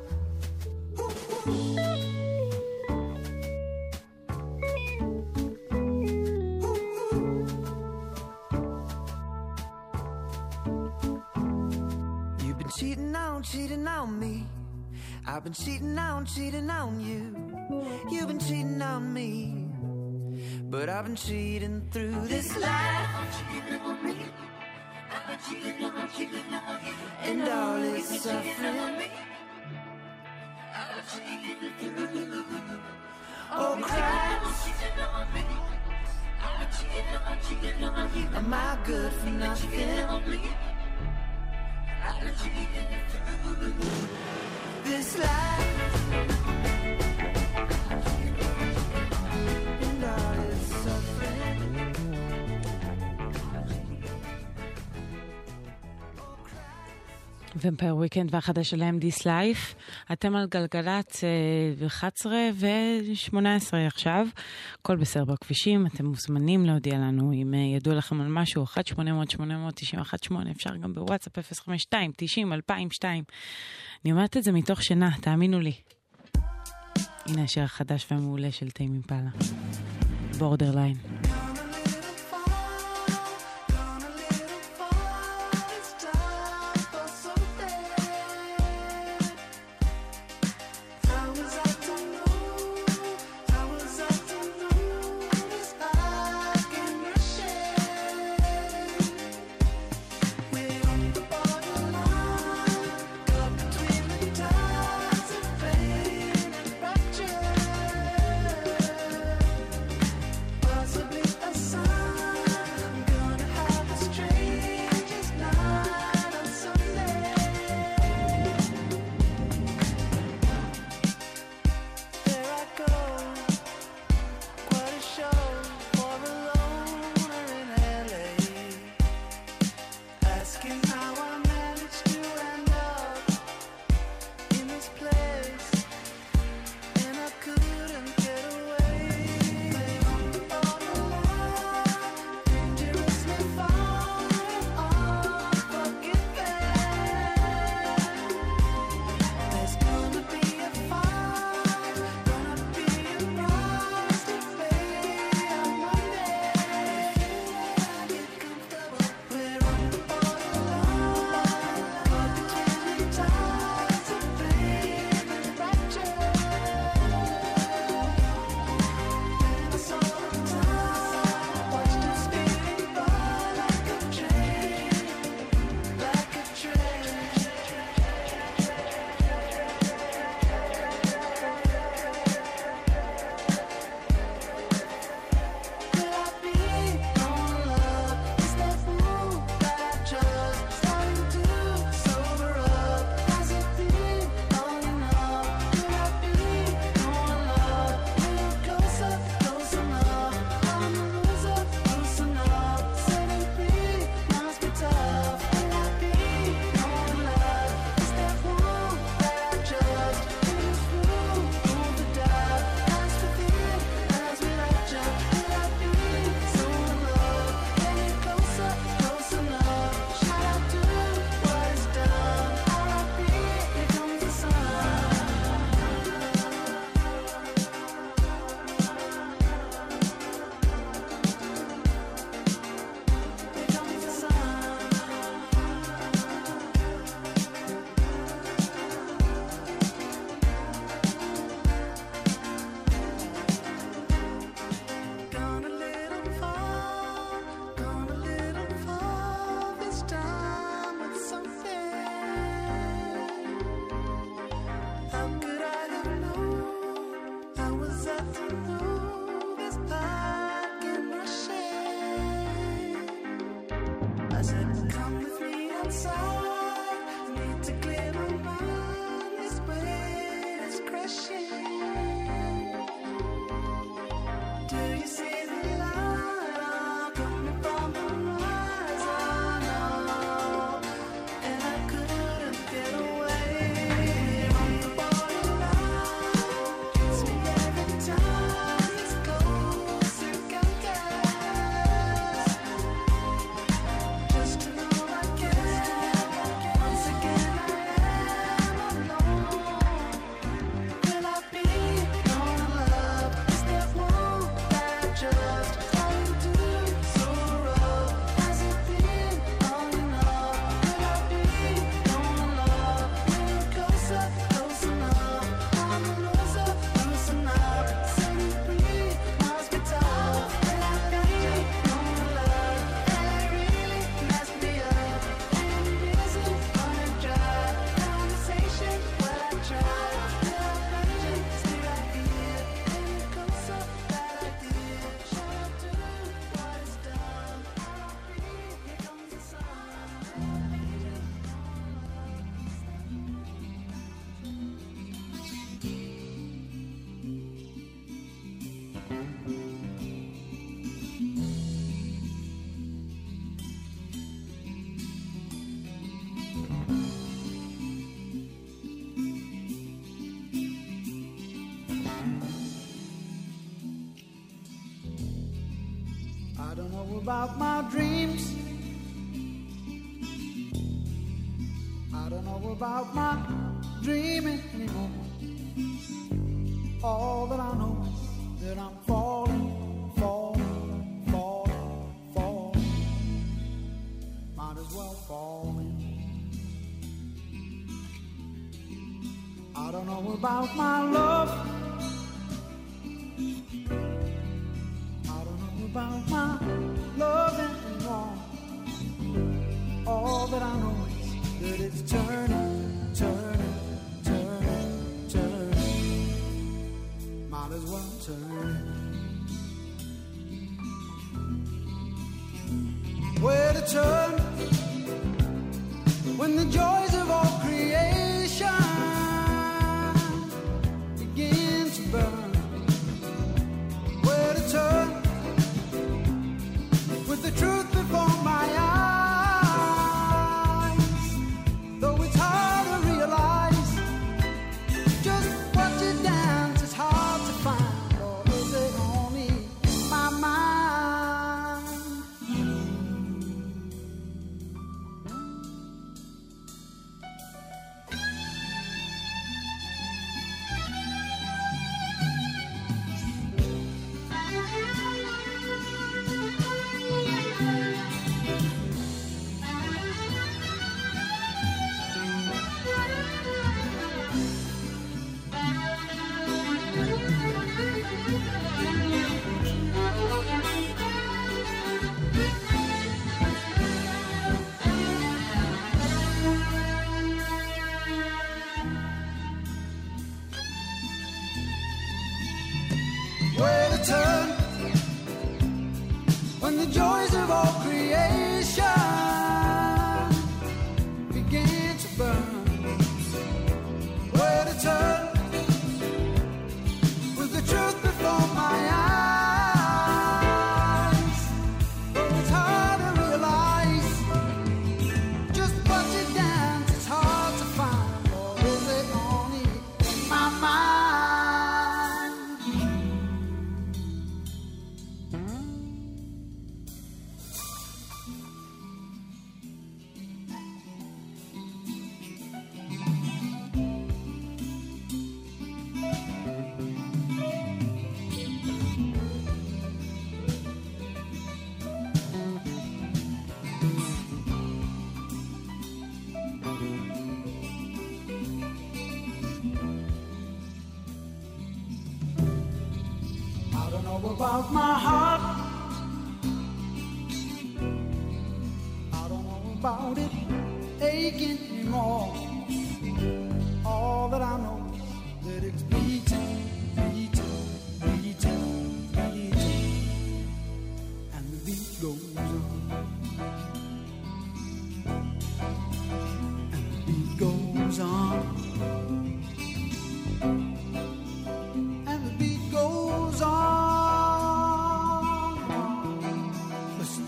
Cheating on me. I've been cheating on you. You've been cheating on me. But I've been cheating through this life. And all its suffering. Oh Christ, am I good for nothing? This life and all its suffering. ומפייר וויקנד והחדש שלהם דיס לייף. אתם על גלגלת 11 ו-18 עכשיו. כל בסדר בכבישים. אתם מוזמנים להודיע לנו אם ידוע לכם על משהו. 1-800-890-18. אפשר גם בוואטסאפ 052-90-2002. אני אומרת את זה מתוך שינה, תאמינו לי. הנה השיר החדש והמעולה של טיימ אימפלה. בורדרליין. about my dreams. I don't know about my dreaming anymore. All that I know is that I'm falling, falling, falling, falling. Might as well fall in. I don't know about my love. I don't know about my love anymore. All that I know is that it's turning, turning, turning, turning. Might as well turn. Where to turn when the joys of all creation begin to burn? Where to turn with the truth before my eyes? Though it's hard to realize just what you dance is hard to find, or is it only my mind? Where to turn when the joys of all creation begin to burn? Where to turn with the truth before my eyes? Though it's hard to realize just what you dance is hard to find, or is it only my mind? I don't know about my heart. I don't know about it aching anymore. All that I know is that it's beating, beating, beating, beating, and the beat goes on, and the beat goes on. And the beat goes on. Listen.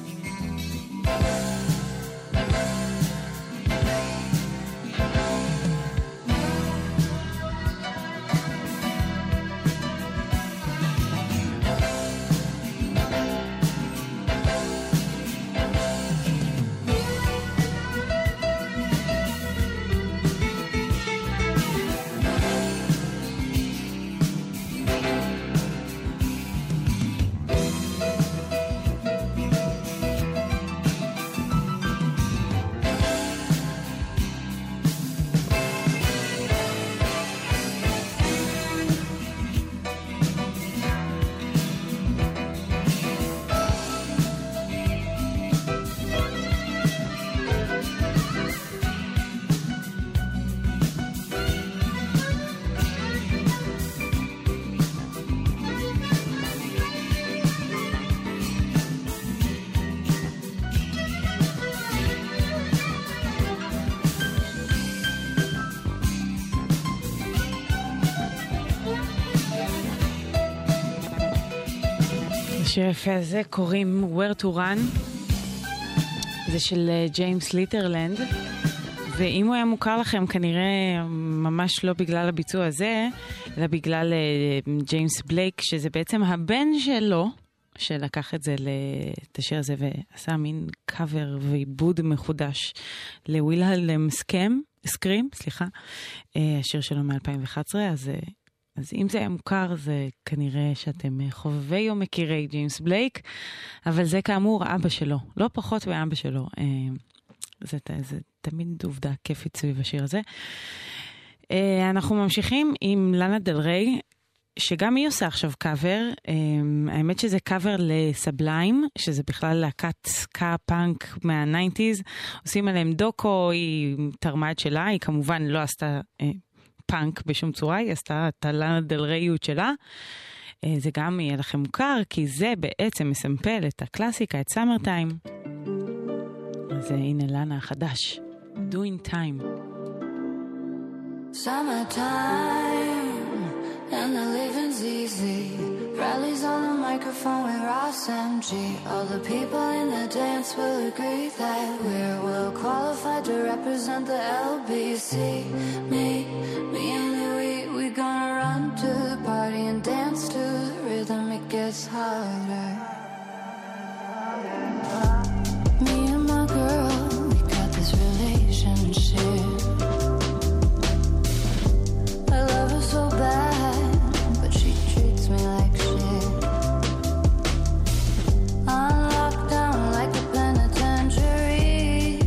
השיר היפה הזה קוראים Where to Run, זה של ג'יימס ליטרלנד, ואם הוא היה מוכר לכם כנראה ממש לא בגלל הביצוע הזה, אלא בגלל ג'יימס בלייק, שזה בעצם הבן שלו, שלקח את זה, את השיר הזה, ועשה מין קאבר ועיבוד מחודש לווילהלם סקרים, סליחה, השיר שלו מ-2011, אז אם זה היה מוכר, זה כנראה שאתם חובבי או מכירי ג'יימס בלייק, אבל זה כאמור אבא שלו, לא פחות מאבא שלו. זה תמיד עובדה כיפית סביב השיר הזה. אנחנו ממשיכים עם לאנה דל ריי, שגם היא עושה עכשיו קאבר. האמת שזה קאבר לסבליים, שזה בכלל להקת סקה פאנק מה-90s. עושים עליהם דוקו, היא תרמה את שלה, היא כמובן לא עשתה פאנק בשום צורה, היא עשתה את הלאנה דל ריייות שלה. זה גם יהיה לכם מוכר, כי זה בעצם מסמפל את הקלאסיקה, את סאמר טיים. אז הנה לאנה החדש, Doing Time. Summertime and the living's easy. Rallies on the microphone with Ross MG. All the people in the dance will agree that we're well qualified to represent the LBC. Me and Louis, we gonna run to the party and dance to the rhythm. It gets harder. Me and my girl, we got this relationship. I love her so bad, but she treats me like shit. I'm locked down like a penitentiary.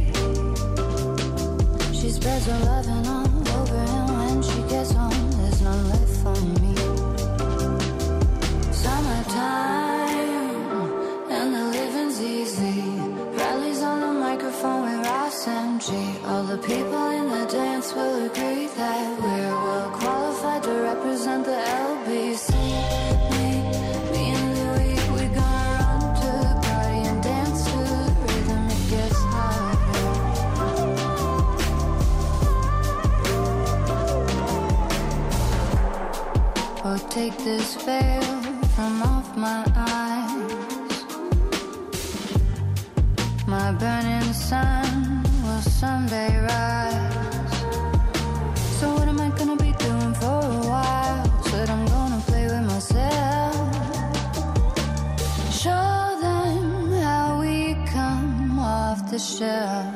She spreads her loving all over, and when she gets home, there's none left for me. Summertime, and the living's easy. Rallies on the microphone with Ross MG. All the people in the dance will agree that we're well qualified to represent the LBC. Me and Louis, we gonna run to the party and dance to the rhythm. It gets harder. Oh, take this veil from off my eyes. My burning sun will someday rise. So what am I gonna be doing for a while? Said I'm gonna play with myself. Show them how we come off the shelf.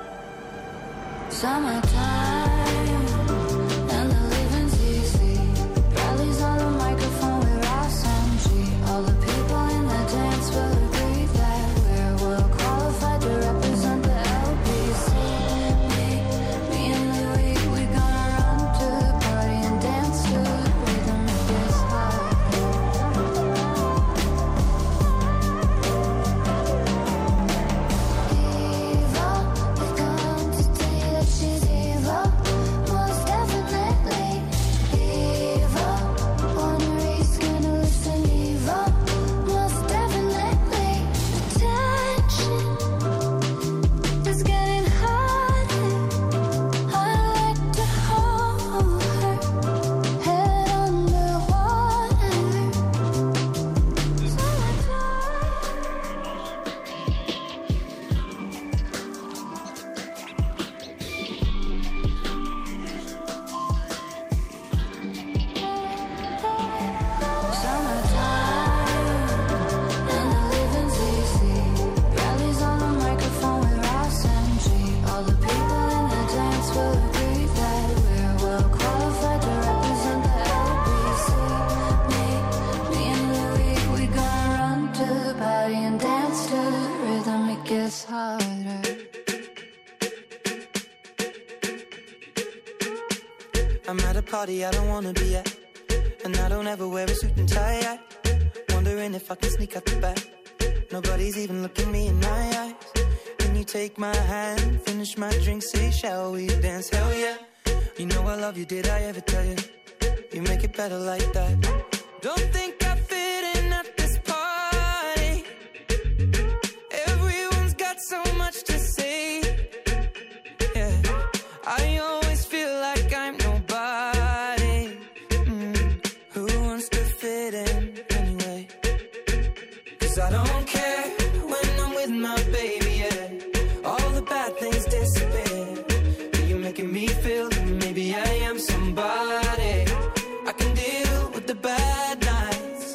Summertime and the living's easy. Rallies on the microphone with Ross MG. All the people in the dance will agree that we're well qualified to represent the LBC. Me and Louis, we gonna run to the party and dance to the rhythm. It gets harder. Evil, they come to tell you that she's evil. Most definitely evil. Wanna read scandalous and evil. Most definitely attention is getting harder. I like to hold her head underwater. And the living's easy. Rallies on the microphone with Ross MG. All the people in the dance will agree that we're well qualified to represent the LBC. Me and Louis, we gonna run to the party and dance to the rhythm. It gets harder. I'm at a party I don't wanna be at, and I don't ever wear a suit and tie. Wondering if I can sneak out the back. Nobody's even looking me in my eyes. Can you take my hand, finish my drink, say shall we dance? Hell yeah. You know I love you, did I ever tell you? You make it better like that. Don't think I fit in at this party. Everyone's got so much to say. Yeah, I always feel like I'm nobody. Who wants to fit in anyway? 'Cause I don't care when I'm with my baby, yeah. All the bad things disappear. You're making me feel that maybe I am somebody. I can deal with the bad nights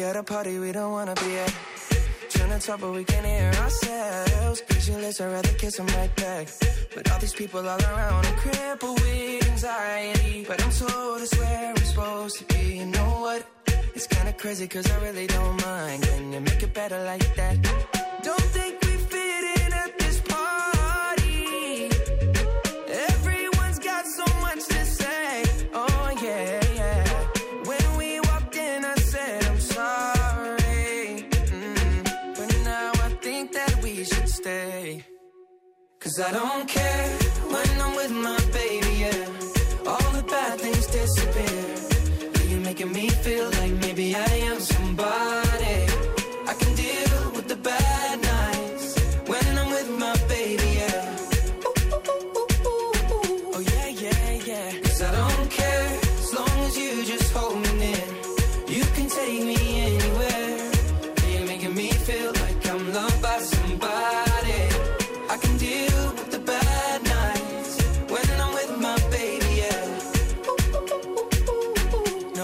at a party we don't wanna be at. Trying to talk but we can't hear ourselves. Speechless, I'd rather kiss them right back. But all these people all around, I'm crippled with anxiety. But I'm told it's where I'm supposed to be. You know what? It's kinda crazy cause I really don't mind. Can you make it better like that? Don't think we fit in at this party. Everyone's got so much to say. Oh yeah, yeah. When we walked in I said I'm sorry. But now I think that we should stay. Cause I don't care when I'm with my baby, yeah. All the bad things disappear. You're making me feel like maybe I am somebody. I can deal with the bad nights when I'm with my baby, yeah. Oh yeah, yeah, yeah. Cause I don't care as long as you just hold me near. You can take me anywhere. You're making me feel like I'm loved by somebody. I can deal with the bad nights when I'm with my baby, yeah. No,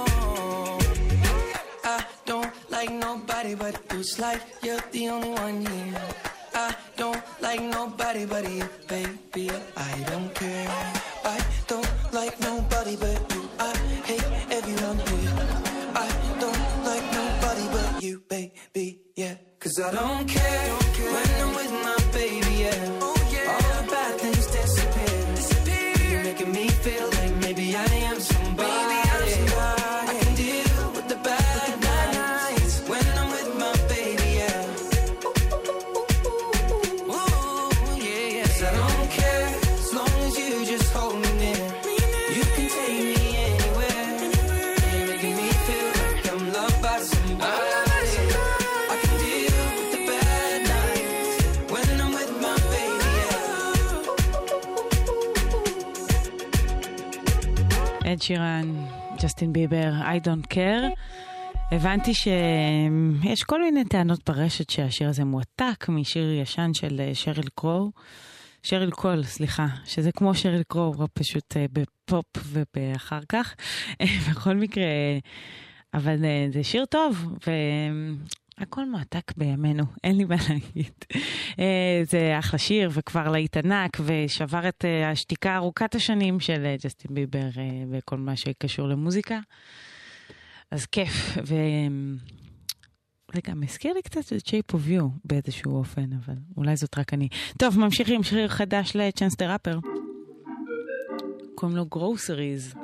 I don't like nobody but you. It's like you're the only one here. I don't like nobody but you, baby. I don't care. I don't like nobody but you. I hate everyone here. I don't like nobody but you, baby, yeah. Cause I don't care when I'm with my baby, yeah. All the bad things disappear. You're making me feel like maybe I am somebody. I can deal with the bad nights when I'm with my baby, yeah. Ooh, yeah, yeah. 'Cause I don't care as long as you just hold me near. You can take me anywhere. You're making me feel like I'm loved by somebody. I can deal with the bad nights when I'm with my baby, yeah. אד שירן, ג'סטין ביבר, I don't care. הבנתי שיש כל מיני טענות ברשת שהשיר הזה מועתק משיר ישן של שריל קול, סליחה, שזה כמו שריל קרו, פשוט בפופ ובאחר כך. בכל מקרה, אבל זה שיר טוב, הכל מועתק בימינו, אין לי מה להגיד. זה אחלה שיר וכבר להיט ענק ושבר את השתיקה ארוכת השנים של ג'סטין ביבר וכל מה שקשור למוזיקה. אז כיף, זה גם הזכיר לי קצת את Shape of You באיזשהו אופן, אבל אולי זאת רק אני. טוב, ממשיכים, שיר חדש לצ'אנס דה ראפר. קוראים לו Groceries.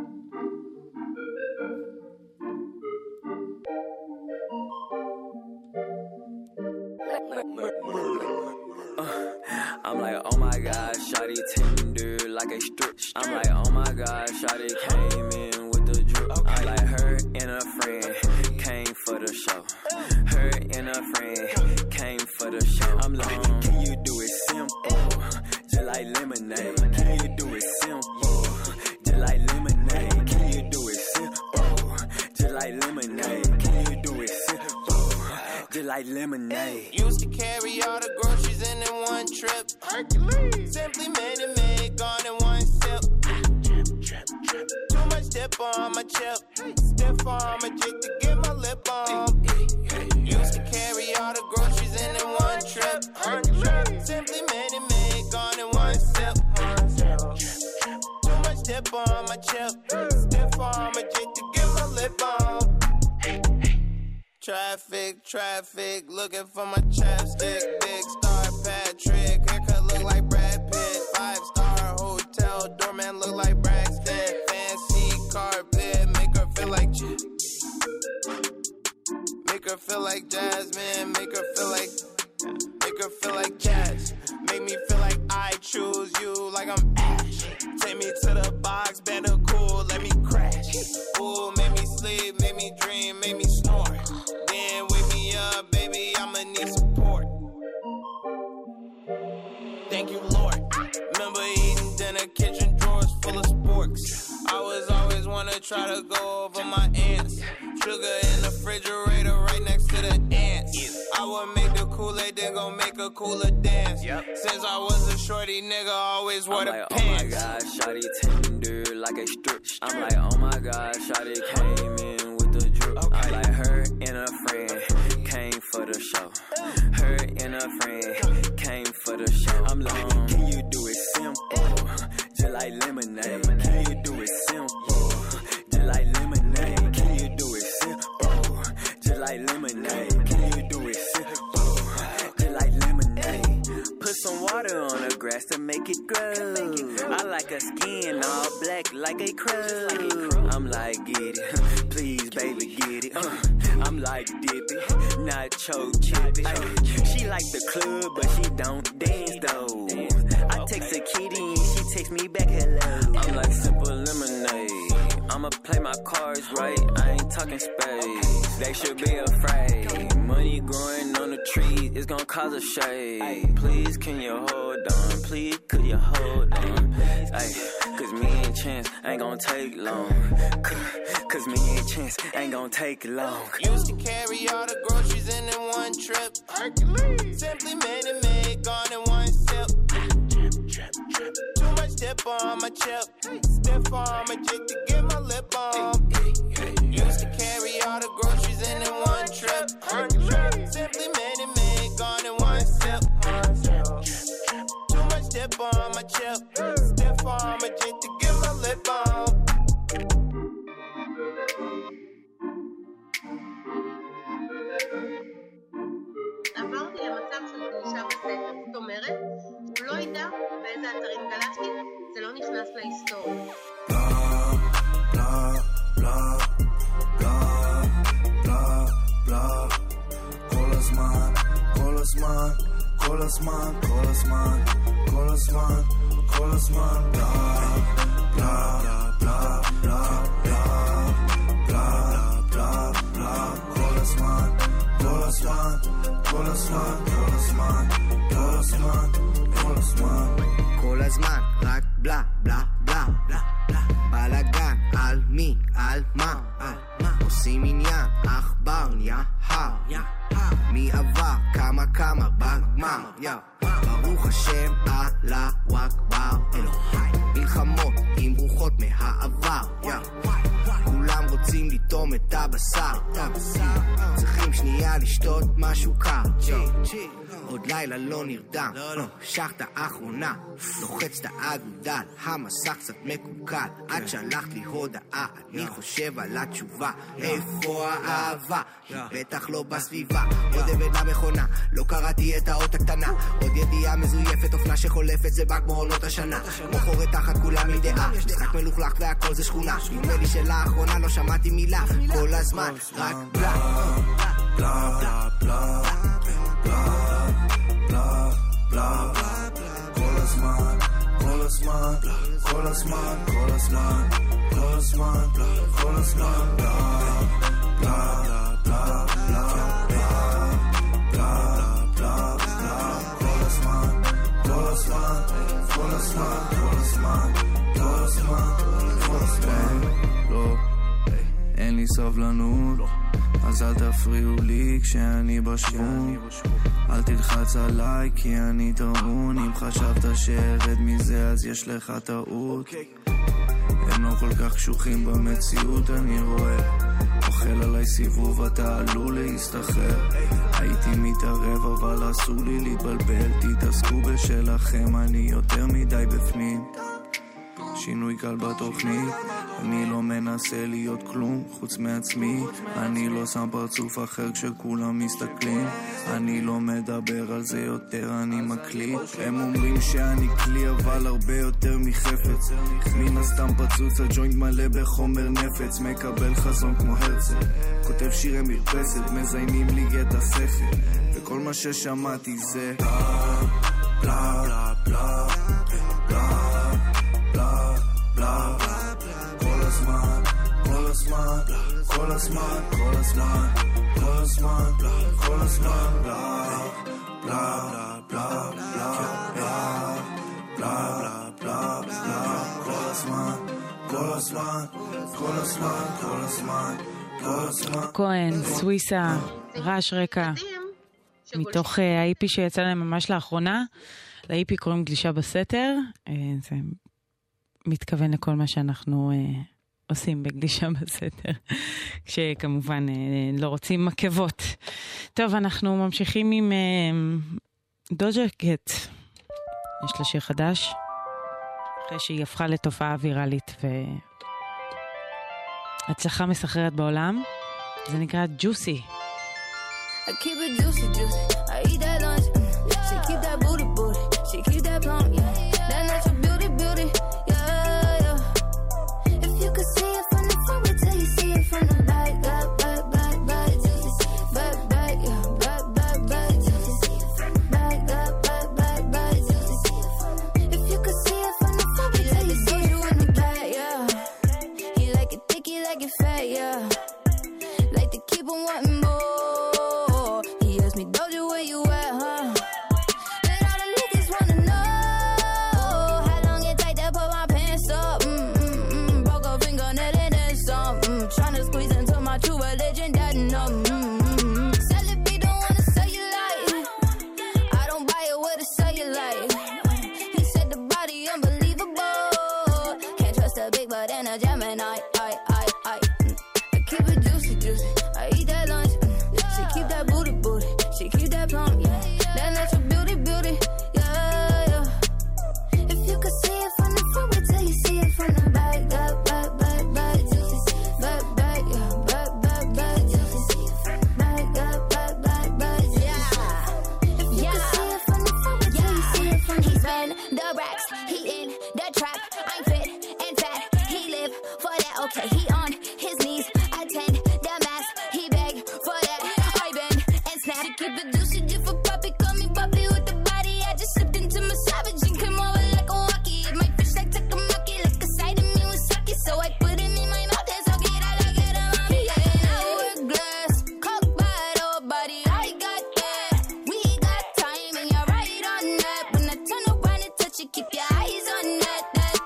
I'm like, oh my God, shawty tender like a strip. I'm like, oh my God, shawty came in with the drip. I like her and a friend came for the show. Her and a friend came for the show. I'm like, can you do it simple, just like lemonade? Can you do it simple, just like lemonade? Can you do it simple, just like lemonade? Can you do it simple, just like lemonade? Used to carry all the groceries in one trip. Hercules. Simply made it made, gone in one sip. Too much dip on my chip. Stiff on my jig to get my lip on. Used to carry all the groceries in one trip. Hercules. Simply made it made, gone in one sip. Too much dip on my chip. Stiff on my jig to get my lip on. Traffic, looking for my chapstick. Big Star Patrick, haircut look like Brad Pitt. 5-star hotel, doorman look like Braxton. Fancy carpet, make her feel like make her feel like Jasmine, make her feel like jazz. Make me feel like I choose you, like I'm Ash. Take me to the box, better cool, let me crash. Ooh, make me sleep, make me dream, make me snore. Then wake me up, baby, I'ma need support. Thank you, Lord. Remember eating dinner, kitchen drawers full of sporks. I was always wanna try to go over my ants. Sugar in the refrigerator right next to the ants. I would make the Kool-Aid, then gon' make a cooler dance. Since I was a shorty nigga, always wore the like, pants. oh my God, shawty tender like a strip. I'm like, oh my God, shawty came in with the drip. I like her and a her skin all black like a crow. I'm like, get it, please, baby, get it. I'm like, dip it, nacho chippy. She like the club, but she don't dance though. I text a kitty and she text me back hello. I'm like simple lemonade. I'ma play my cards right. I ain't talking space. They should be afraid. Money growing on the tree is gonna cause a shade. Please, can you hold on? Please, could you hold on? Ay, cause me and Chance ain't gonna take long. Cause me and Chance ain't gonna take long. Used to carry all the groceries in one trip. Hercules. Simply made it made, gone in one sip. Too much dip on my chip. Stiff on my jig to get my lip on. Used to carry all the groceries in one trip. Hercules. Simply made it made, gone in one sip. Too much dip on my chip. Stiff on my jig to get my lip on. עברתי למצב של גלישה בסדר, זאת אומרת, הוא לא ידע באיזה אתרים גלשתי, זה לא נכנס להיסטוריה. כל הזמן, כל הזמן, כל הזמן, כל הזמן, כל הזמן, כל הזמן, בלה, בלה, בלה, בלה, בלה, בלה, בלה, בלה, כל הזמן, כל הזמן, כל הזמן, כל הזמן, כל הזמן, כל הזמן, כל הזמן, רק בלה, בלה, בלה, בלה, בלגן, על מי, על מה, עושים עניין, אכבר, יהר, מי עבר, כמה, בגמר, ברוך השם, אללהו אכבר, מלחמות עם רוחות מהעבר, כולם רוצים לטום את הבשר, צריכים שנייה לשתות משהו קר, עוד לילה לא נרדם, שחת האחרונה, לוחץ את האגודל, המסך קצת מקוקל, עד שלחת לי הודעה, אני חושב על התשובה, איפה האהבה? בטח לא בסביבה, עוד עבד למכונה, לא קראתי את האות הקטנה, עוד ידיעה מזויפת, אופנה שחולפת, זה בא כמו עונות השנה, מוכרת תחת כולם מדעה, משחק מלוכלך והכל זה שכונה, נדמה לי שלאחרונה לא שמעתי מילה, כל הזמן, רק בלה, בלה, בלה, בלה, בלה, בלה, כל הזמן, כל הזמן, כל הזמן, כל הזמן, כל הזמן, כל הזמן, בלה, בלה, בלה, בלה, בלה, בלה, בלה, כל הזמן, כל הזמן, כל הזמן, כל הזמן, כל הזמן, כל הזמן, לא, אין לי סבלנות, אז אל תפריעו לי כשאני בשוונג, אל תלחץ עליי כי אני טעון, אם חשבת שארד מזה אז יש לך טעות, הם לא כל כך קשוחים במציאות אני רואה, אוכל עליי סיבוב אתה עלול להסתחרר, הייתי מתערב אבל אסור לי להתבלבל, תתעסקו בשלכם אני יותר מדי בפנים, שינוי קל בתוכנית, אני לא מנסה להיות כלום חוץ מעצמי, אני לא שם פרצוף אחר כשכולם מסתכלים, אני לא מדבר על זה יותר, אני מקליט, הם אומרים שאני כלי אבל הרבה יותר מחפץ, מן הסתם פצוץ הג'וינט מלא בחומר נפץ, מקבל חזון כמו הרצל, כותב שירי מרפסת, מזיינים לי את השכל, וכל מה ששמעתי זה בלה בלה בלה בלה בלה בלה, כל הזמן, כל הזמן, כל הזמן, כל הזמן, כל הזמן, כל הזמן, בלה בלה בלה בלה בלה בלה בלה בלה, כל הזמן, כל הזמן, כל הזמן, כל הזמן, כל הזמן. כהן, סוויסה, רעש רקע, מתוך ה-IP שיצא להם ממש לאחרונה, ל-IP קוראים גלישה בסתר, זה מתכוון לכל מה שאנחנו עושים בגלישה בסתר, כשכמובן לא רוצים מקבות. טוב, אנחנו ממשיכים עם דוג'ה קט. יש לה שיר חדש, אחרי שהיא הפכה לתופעה ויראלית והצלחה מסחררת בעולם. זה נקרא ג'וסי. I keep it juicy, juicy. I eat that lunch. She keep that booty, booty. She keep that plump, yeah. That natural beauty, beauty, yeah. like to keep on wanting more. He asked me, Doja, where you at, huh? And all the niggas wanna know how long it take to put my pants up. Broke a fingernail and then some. Tryna squeeze into my true religion, that no. Celebrate, don't wanna say you like. I don't buy it with a cellulite. He said the body unbelievable. Can't trust a big butt and a Gemini. I keep it juicy, juicy. I eat that lunch. She keep that booty, booty. She keep that plump, yeah. That natural beauty, beauty, yeah, yeah. If you could see it from the front, wait till you see it from the back. Back, back, back, back, juicy. Back, back, yeah. Back, back, back, juicy. Back, back, back, back, back, yeah. If you could see it from the front, wait till you see it from the back. He spend the racks, he in the trap. I'm fit and fat, he live for that. Okay, he on his knees, attend the mass. He beg for that. I bend and snap. She keep it juicy, just for puppy. Call me puppy with the body. I just slipped into my savage and came over like a walkie. My fish like takamaki, like a side of me with sake. So I put it in my mouth and suck it. I like it, mommy. Yeah, I wear glass, cock bottle, body. I got that. We got time and you're right on that. When I turn around and touch it, keep your eyes on that.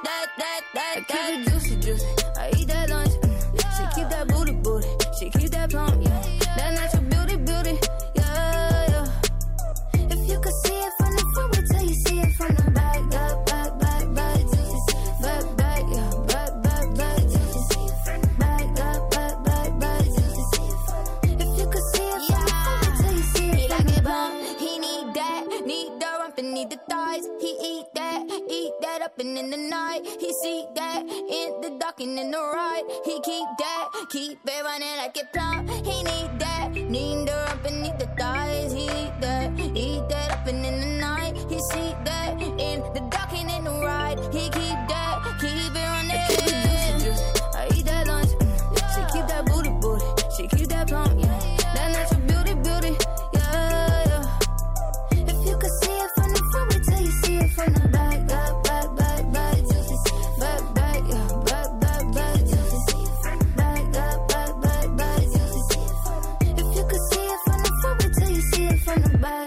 I keep it juicy, juicy. I eat that lunch. She keep that booty, booty. She keep that plump, yeah. That natural beauty, beauty, yeah, yeah. If you could see it from the front, wait till you see it from the back. Back, back, back, back, juicy. Back, back, yeah. Back, back, back, juicy. Back, back, back, back, back, juicy. If you could see it from the front, wait till you see it. He like it bump, he need the rump and need the thighs. He eat that up and in the night. He see that in the dark and in the right. He keep it running like it plump. He need the rump and need the thighs. He eat that up and in the night. He see that in the dark and in the right. He keep it running. I keep it juicy, juicy. I eat that lunch. She keep that booty, booty. She keep that plump, yeah. That natural beauty, beauty, yeah, yeah. If you could see it from the front, wait till you see it from the back. Back, back, back, back, juicy. Back, back, yeah. Back, back, back, juicy. Back, back, back, back, back, juicy. If you could see it from the front, wait till you see it from the back.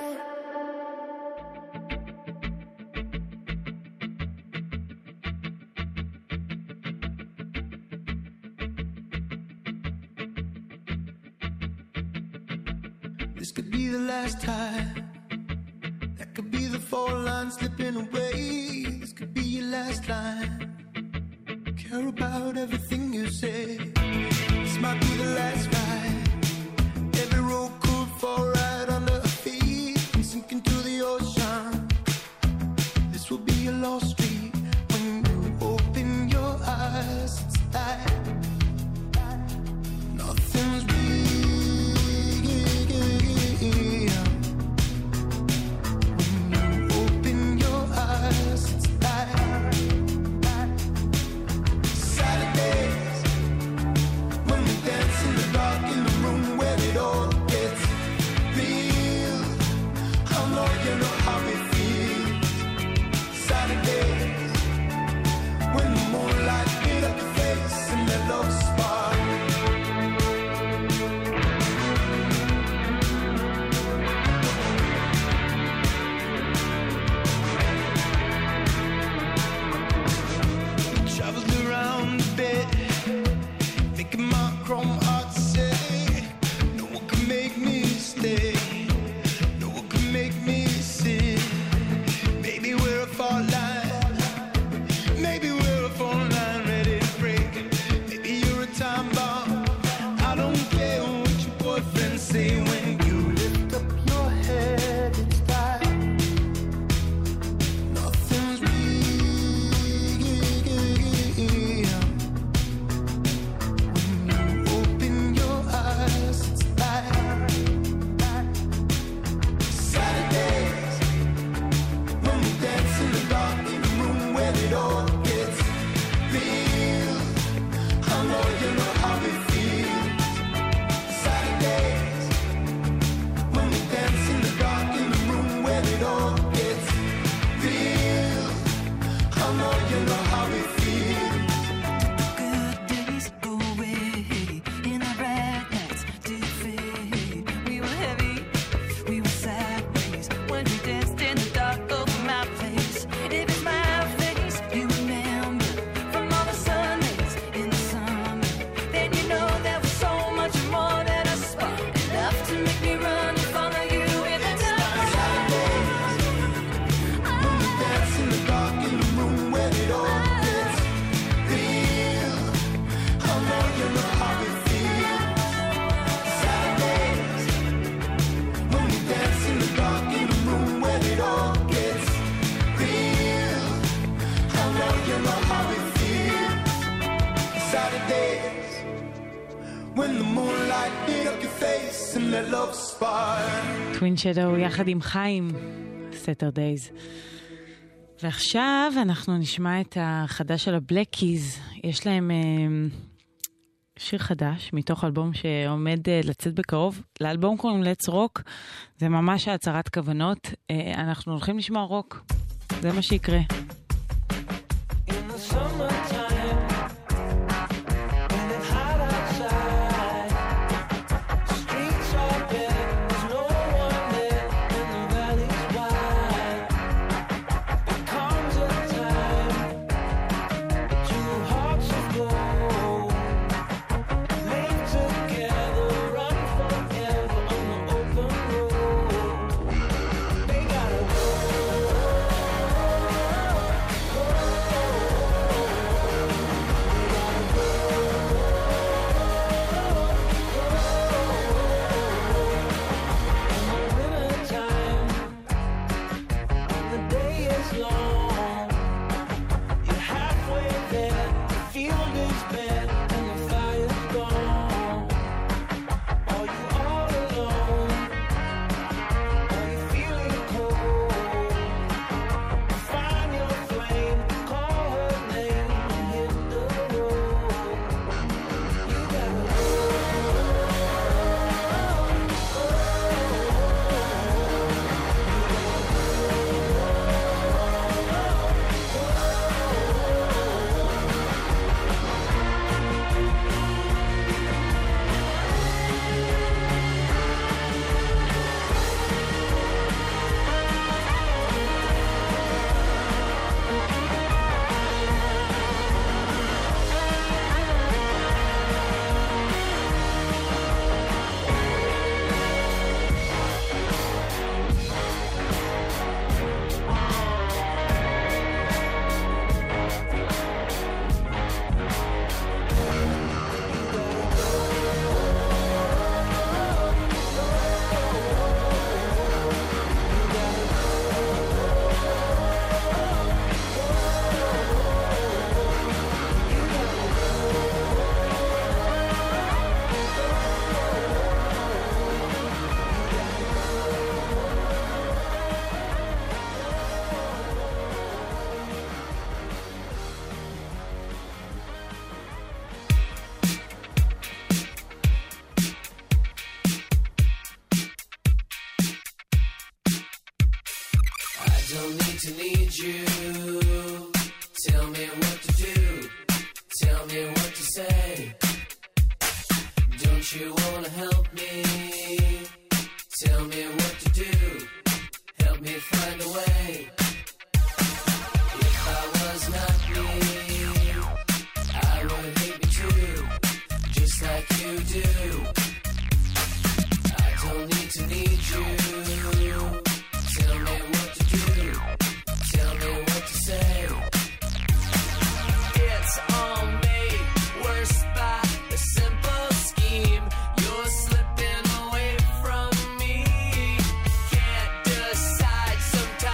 This could be the last time. That could be the 4 lines slipping away. This could be your last line. Care about everything you say. This might be the last ride. Every road could fall right under our feet and sink into the ocean. This will be a lost street when you open your eyes. It's like nothing's real. when the moonlight lit up your face and that love spark. טווין שדו יחד עם חיים, סטרדייז. ועכשיו אנחנו נשמע את החדש של הבלקיז. יש להם שיר חדש מתוך אלבום שעומד לצאת בקרוב. לאלבום קוראים Let's Rock. זה ממש הצהרת כוונות. אנחנו הולכים לשמוע רוק. זה מה שיקרה. don't need to need you. Tell me what to do. Tell me what to say. Don't you wanna help me? Tell me what to do. Help me find a way. If I was not me, I would hate me too, just like you do. I don't need to need you. Tell me what to do. Tell me what to say. It's all made worse by a simple scheme. You're slipping away from me. Can't decide. Sometimes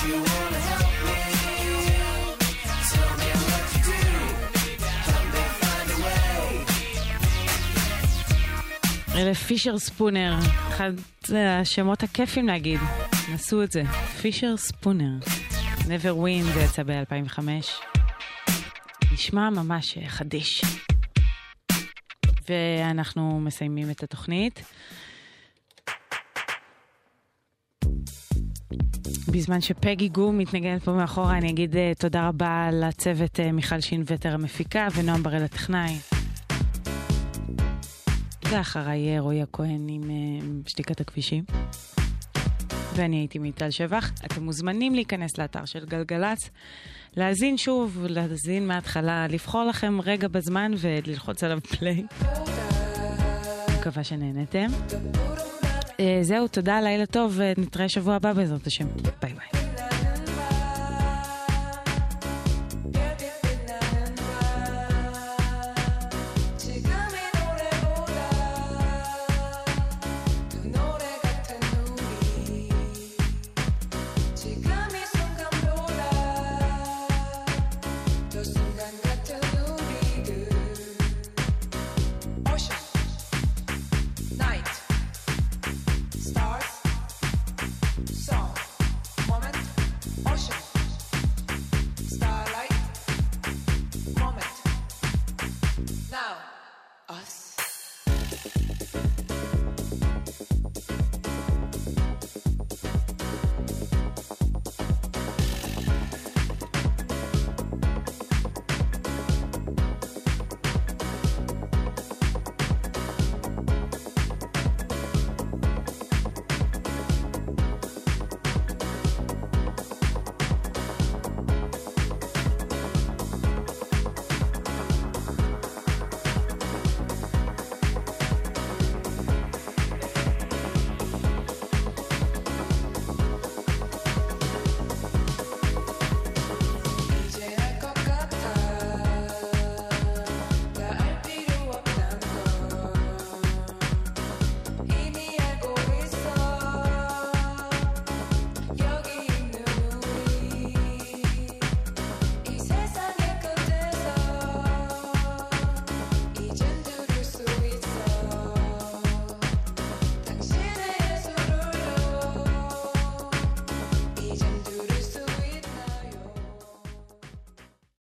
you wanna help me? Tell me what you do. Help me find a way. אלה פישר ספונר, אחד השמות הכיפים להגיד, נסו את זה, פישר ספונר. Never Win, זה יצא ב-2005. נשמע ממש חדיש. ואנחנו מסיימים את התוכנית. בזמן שפגי גו מתנגנת פה מאחורה, אני אגיד תודה רבה לצוות מיכל שינווטר המפיקה ונועם בראל הטכנאי. ואחריי רועי הכהן עם שתיקת הכבישים. ואני הייתי מיטל שבח. אתם מוזמנים להיכנס לאתר של גלגלץ, להזין שוב, להזין מההתחלה, לבחור לכם רגע בזמן וללחוץ עליו פליי. מקווה שנהנתם. זהו, תודה, לילה טוב, ונתראה שבוע הבא בעזרת השם. ביי ביי.